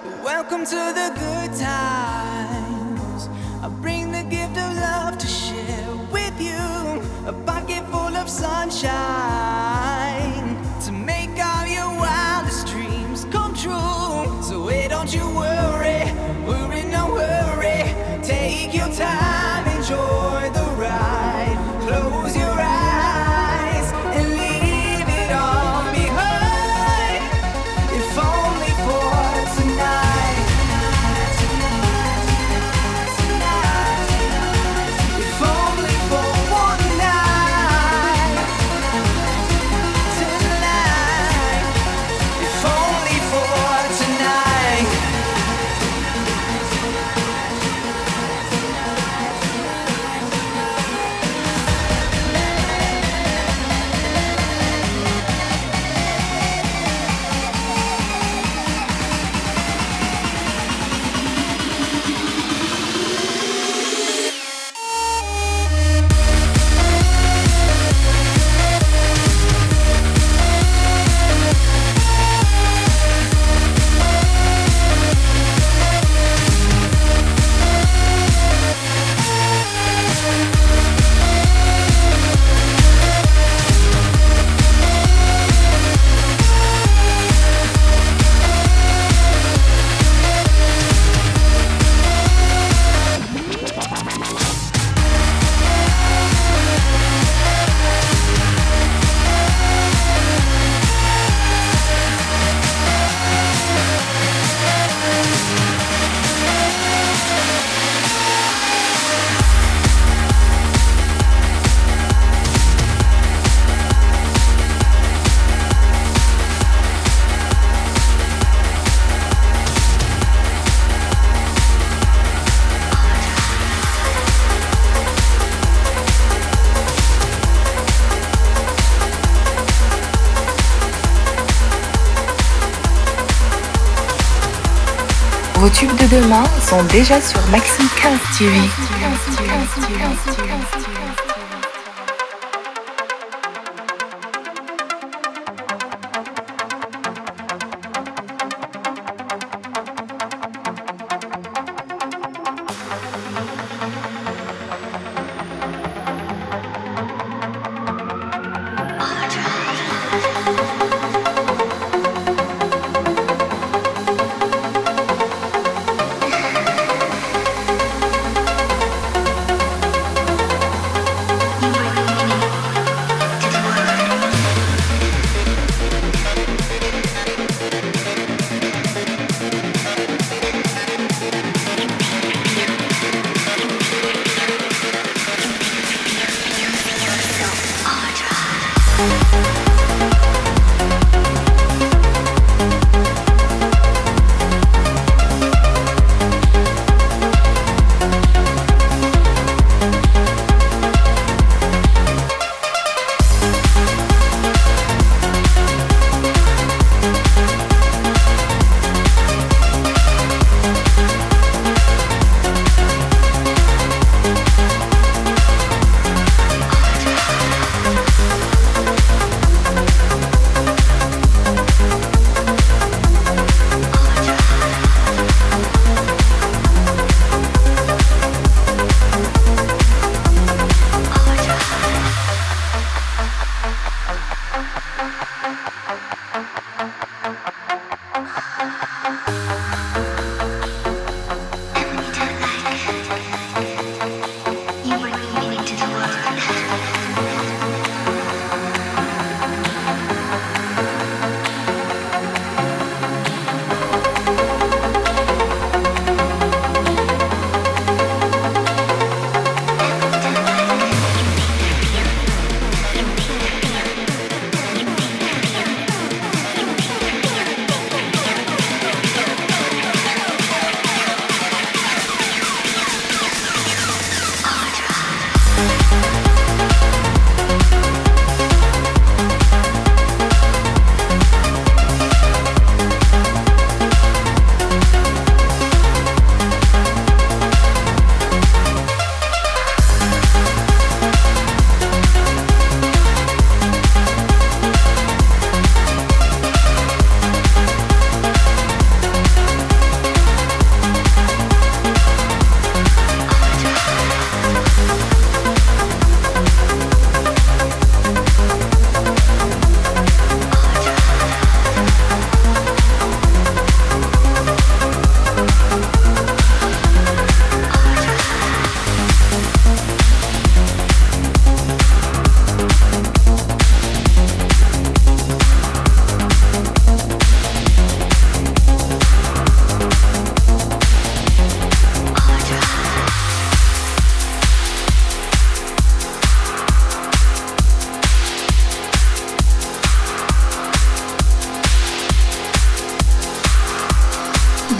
Welcome to the good times. I bring the gift of love to share with you. A pocket full of sunshine to make all your wildest dreams come true. So hey, don't you worry, worry, no worry. Take your time, enjoy the ride. Close your eyes and leave it all behind. If only for tonight. If only for one night. Tonight. If only for tonight. Vos tubes de demain sont déjà sur Maxime quinze T V.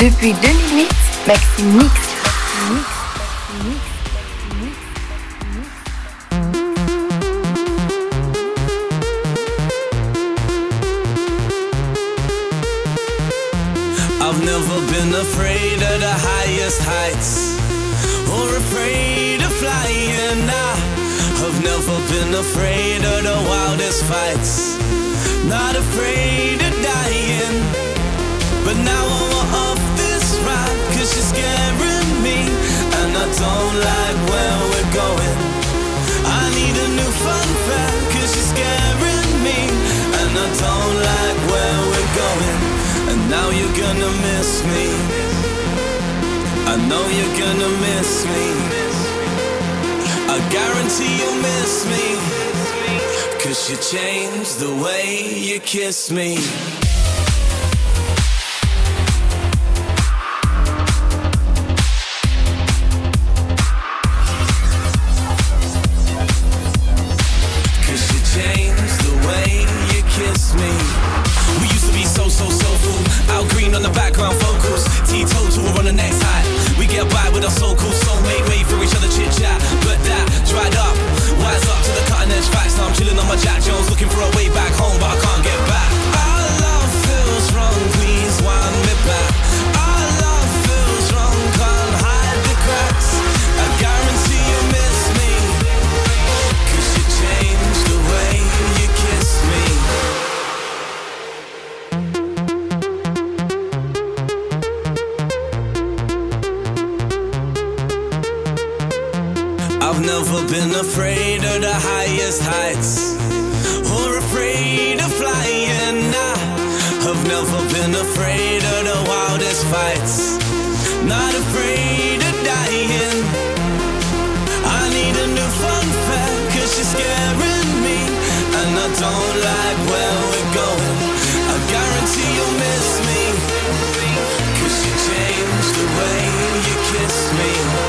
Depuis deux mille huit, Maxime Mix. Maxime Mix. I've never been afraid of the highest heights or afraid of flying. I have never been afraid of the wildest fights, not afraid of dying. But now I want off this ride, cause you're scaring me, and I don't like where we're going. I need a new fun fact, cause you're scaring me, and I don't like where we're going. And now you're gonna miss me, I know you're gonna miss me, I guarantee you'll miss me, cause you changed the way you kiss me. Green on the background vocals, T-total, we're on the next high. We get by with our so-called soulmate, wait for each other chit-chat. But that dried up, wise up to the cutting edge facts. Now I'm chilling on my Jack Jones, looking for a way back home, but I can't get back. Our love feels wrong, please wind me back. Our love feels wrong, can't hide the cracks. I guarantee you miss me, cause you changed the way you kiss me. I've never been afraid of the highest heights or afraid of flying. I have never been afraid of the wildest fights, not afraid of dying. I need a new fun fact, cause you're scaring me, and I don't like where we're going. I guarantee you'll miss me, cause you changed the way you kiss me.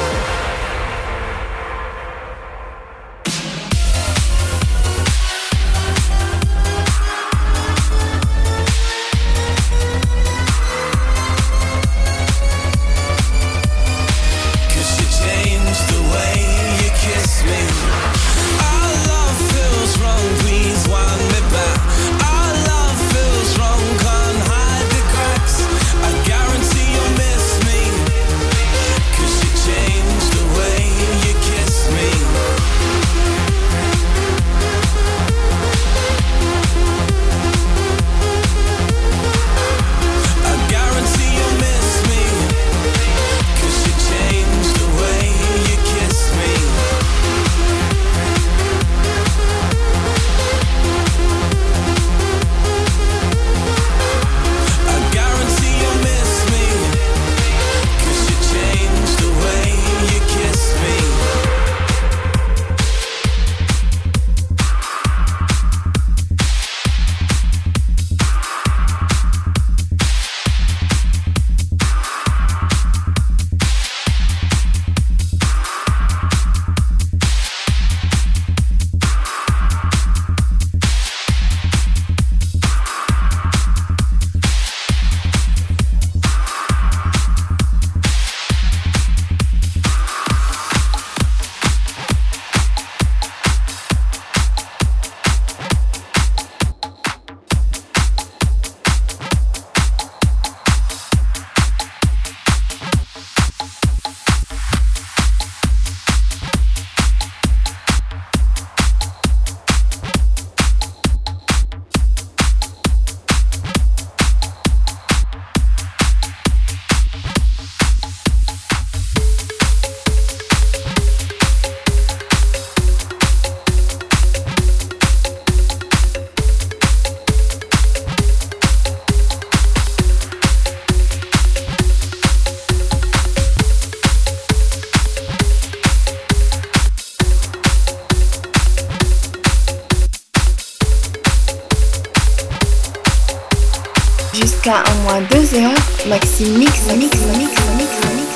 Jusqu'à un moins deux heures, Maxime Mix, Mix, Mix, Mix, Mix, Mix.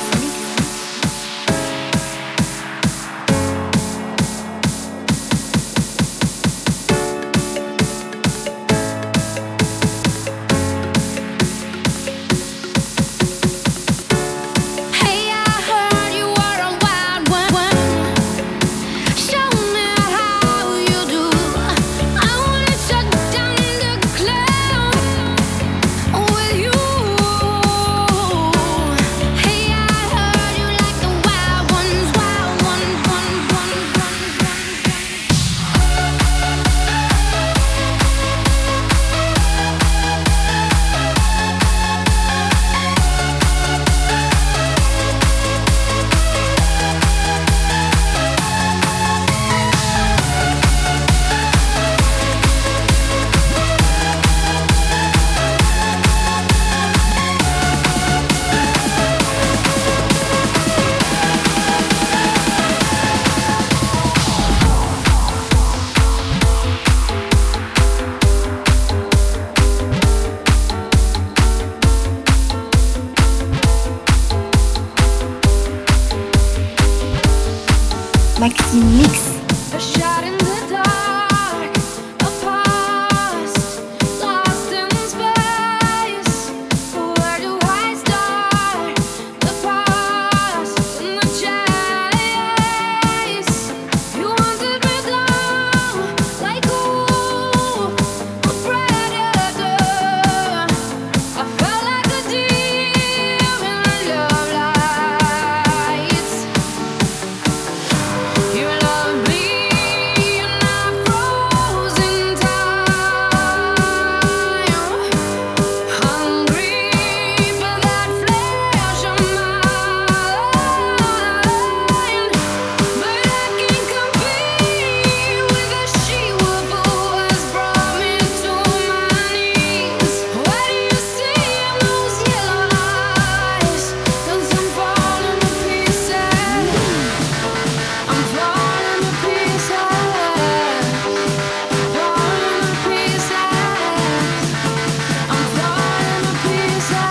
Maxime Mix. A shot in the dark, a past lost in space. Where do I start? The past and the chase. You wanted me down like a wolf, a predator. I felt like a deer in the love lights. You love me and I froze in time, hungry for that flesh of mine. But I can't compete with the she-wolf who has brought me to my knees. What do you see in those yellow eyes? 'Cause I'm falling to pieces. I'm falling to pieces. Falling to pieces. I'm falling to pieces.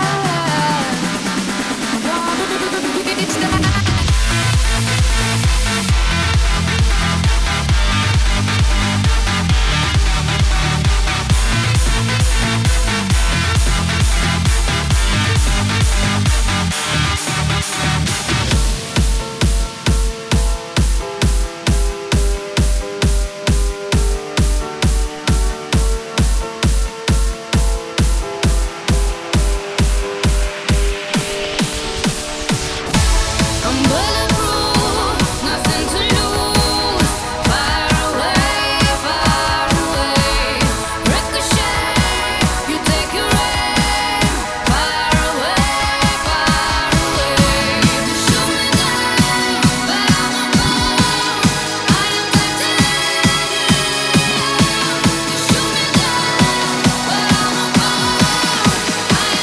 I'm bulletproof, nothing to lose. Far away, far away. Ricochet, you take your aim. Far away, far away. You shoot me down, but I'm above. I am titanium. You shoot me down, but I'm above. I am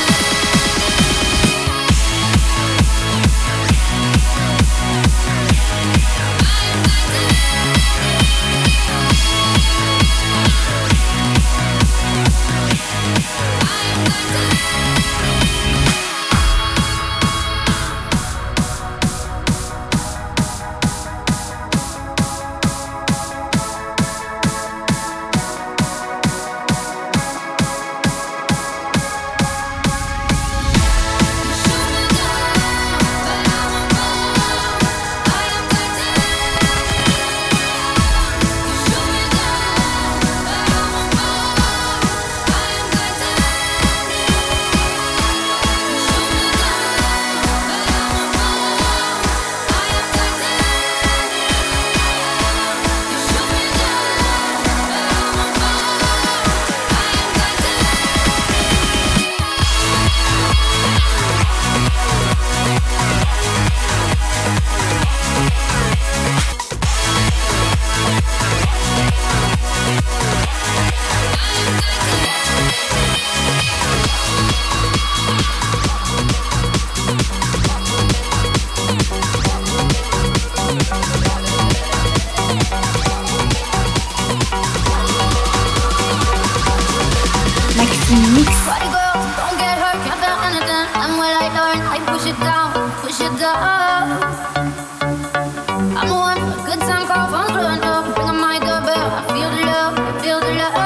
Maxime Mix. Body girl, don't get hurt, can't feel anything. And when I learn, I push it down, push it down. I'm the one for a good time call, phone's blowing up. Bring on my doorbell, I feel the love, I feel the love.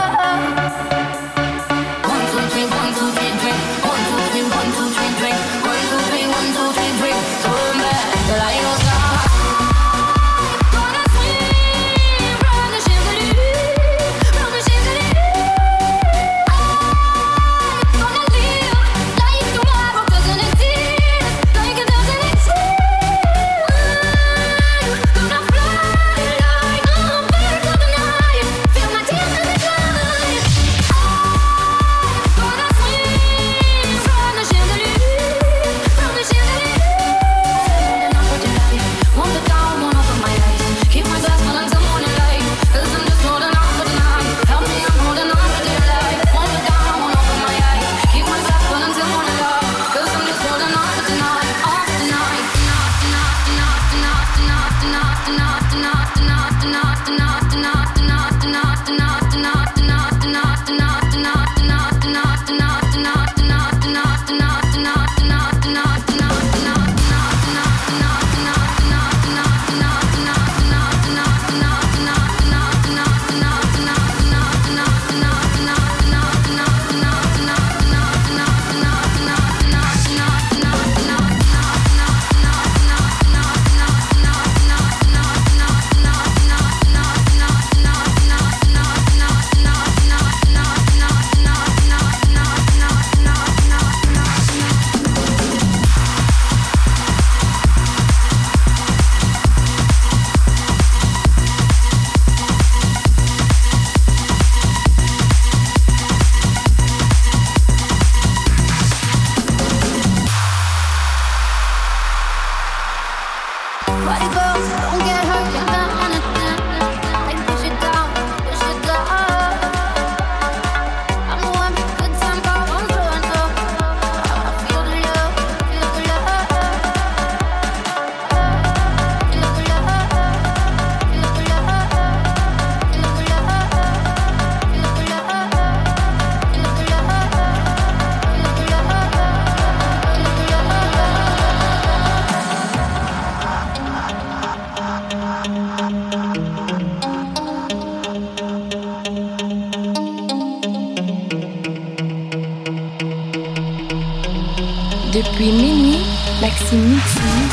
One, two, three, one, two, three, drink. One, two, three, one, two, three, drink. One, two, three, one, two, three, drink. Turn back till I go stop. Gonna swim from the chandelier, from the chandelier. Gonna live like tomorrow doesn't exist, like it doesn't exist. Depuis minuit, Maxime Mix.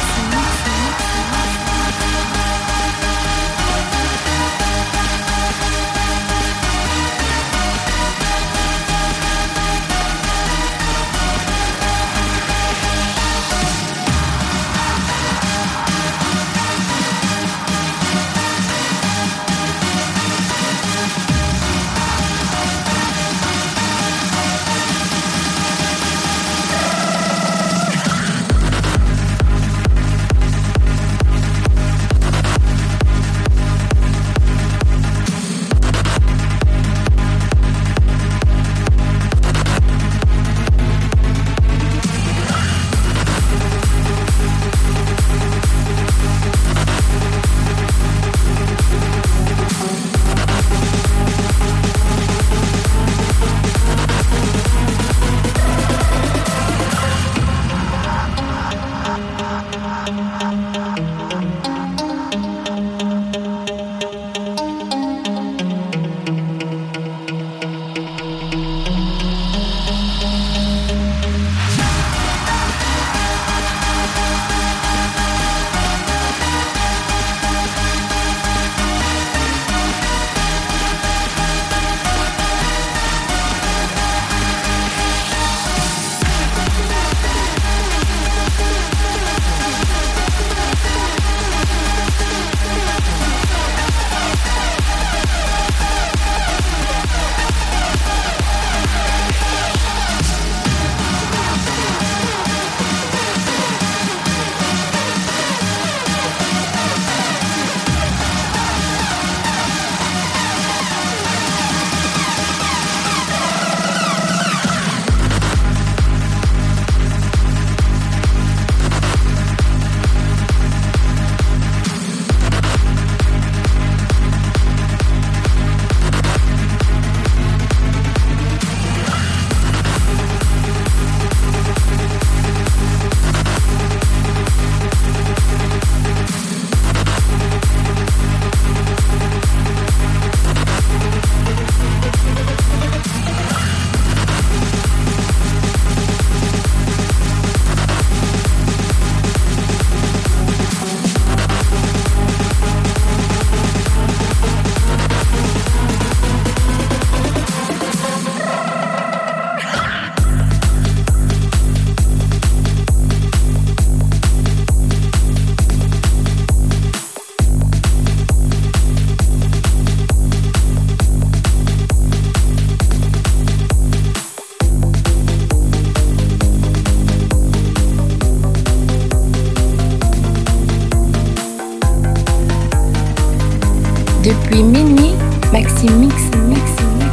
Depuis minuit, Maxime Mix, Mix, Mix.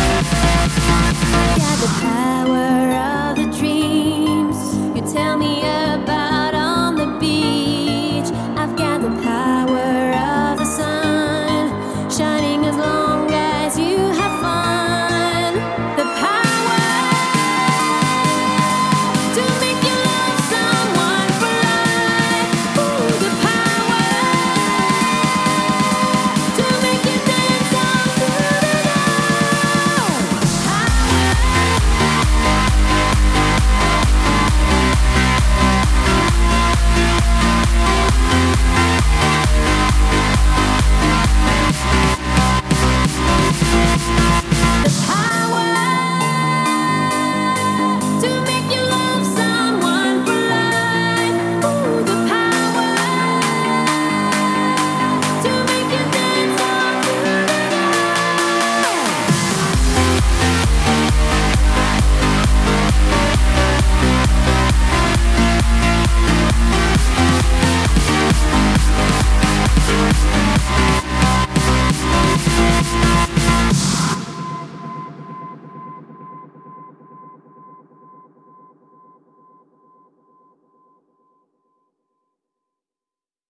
Tell me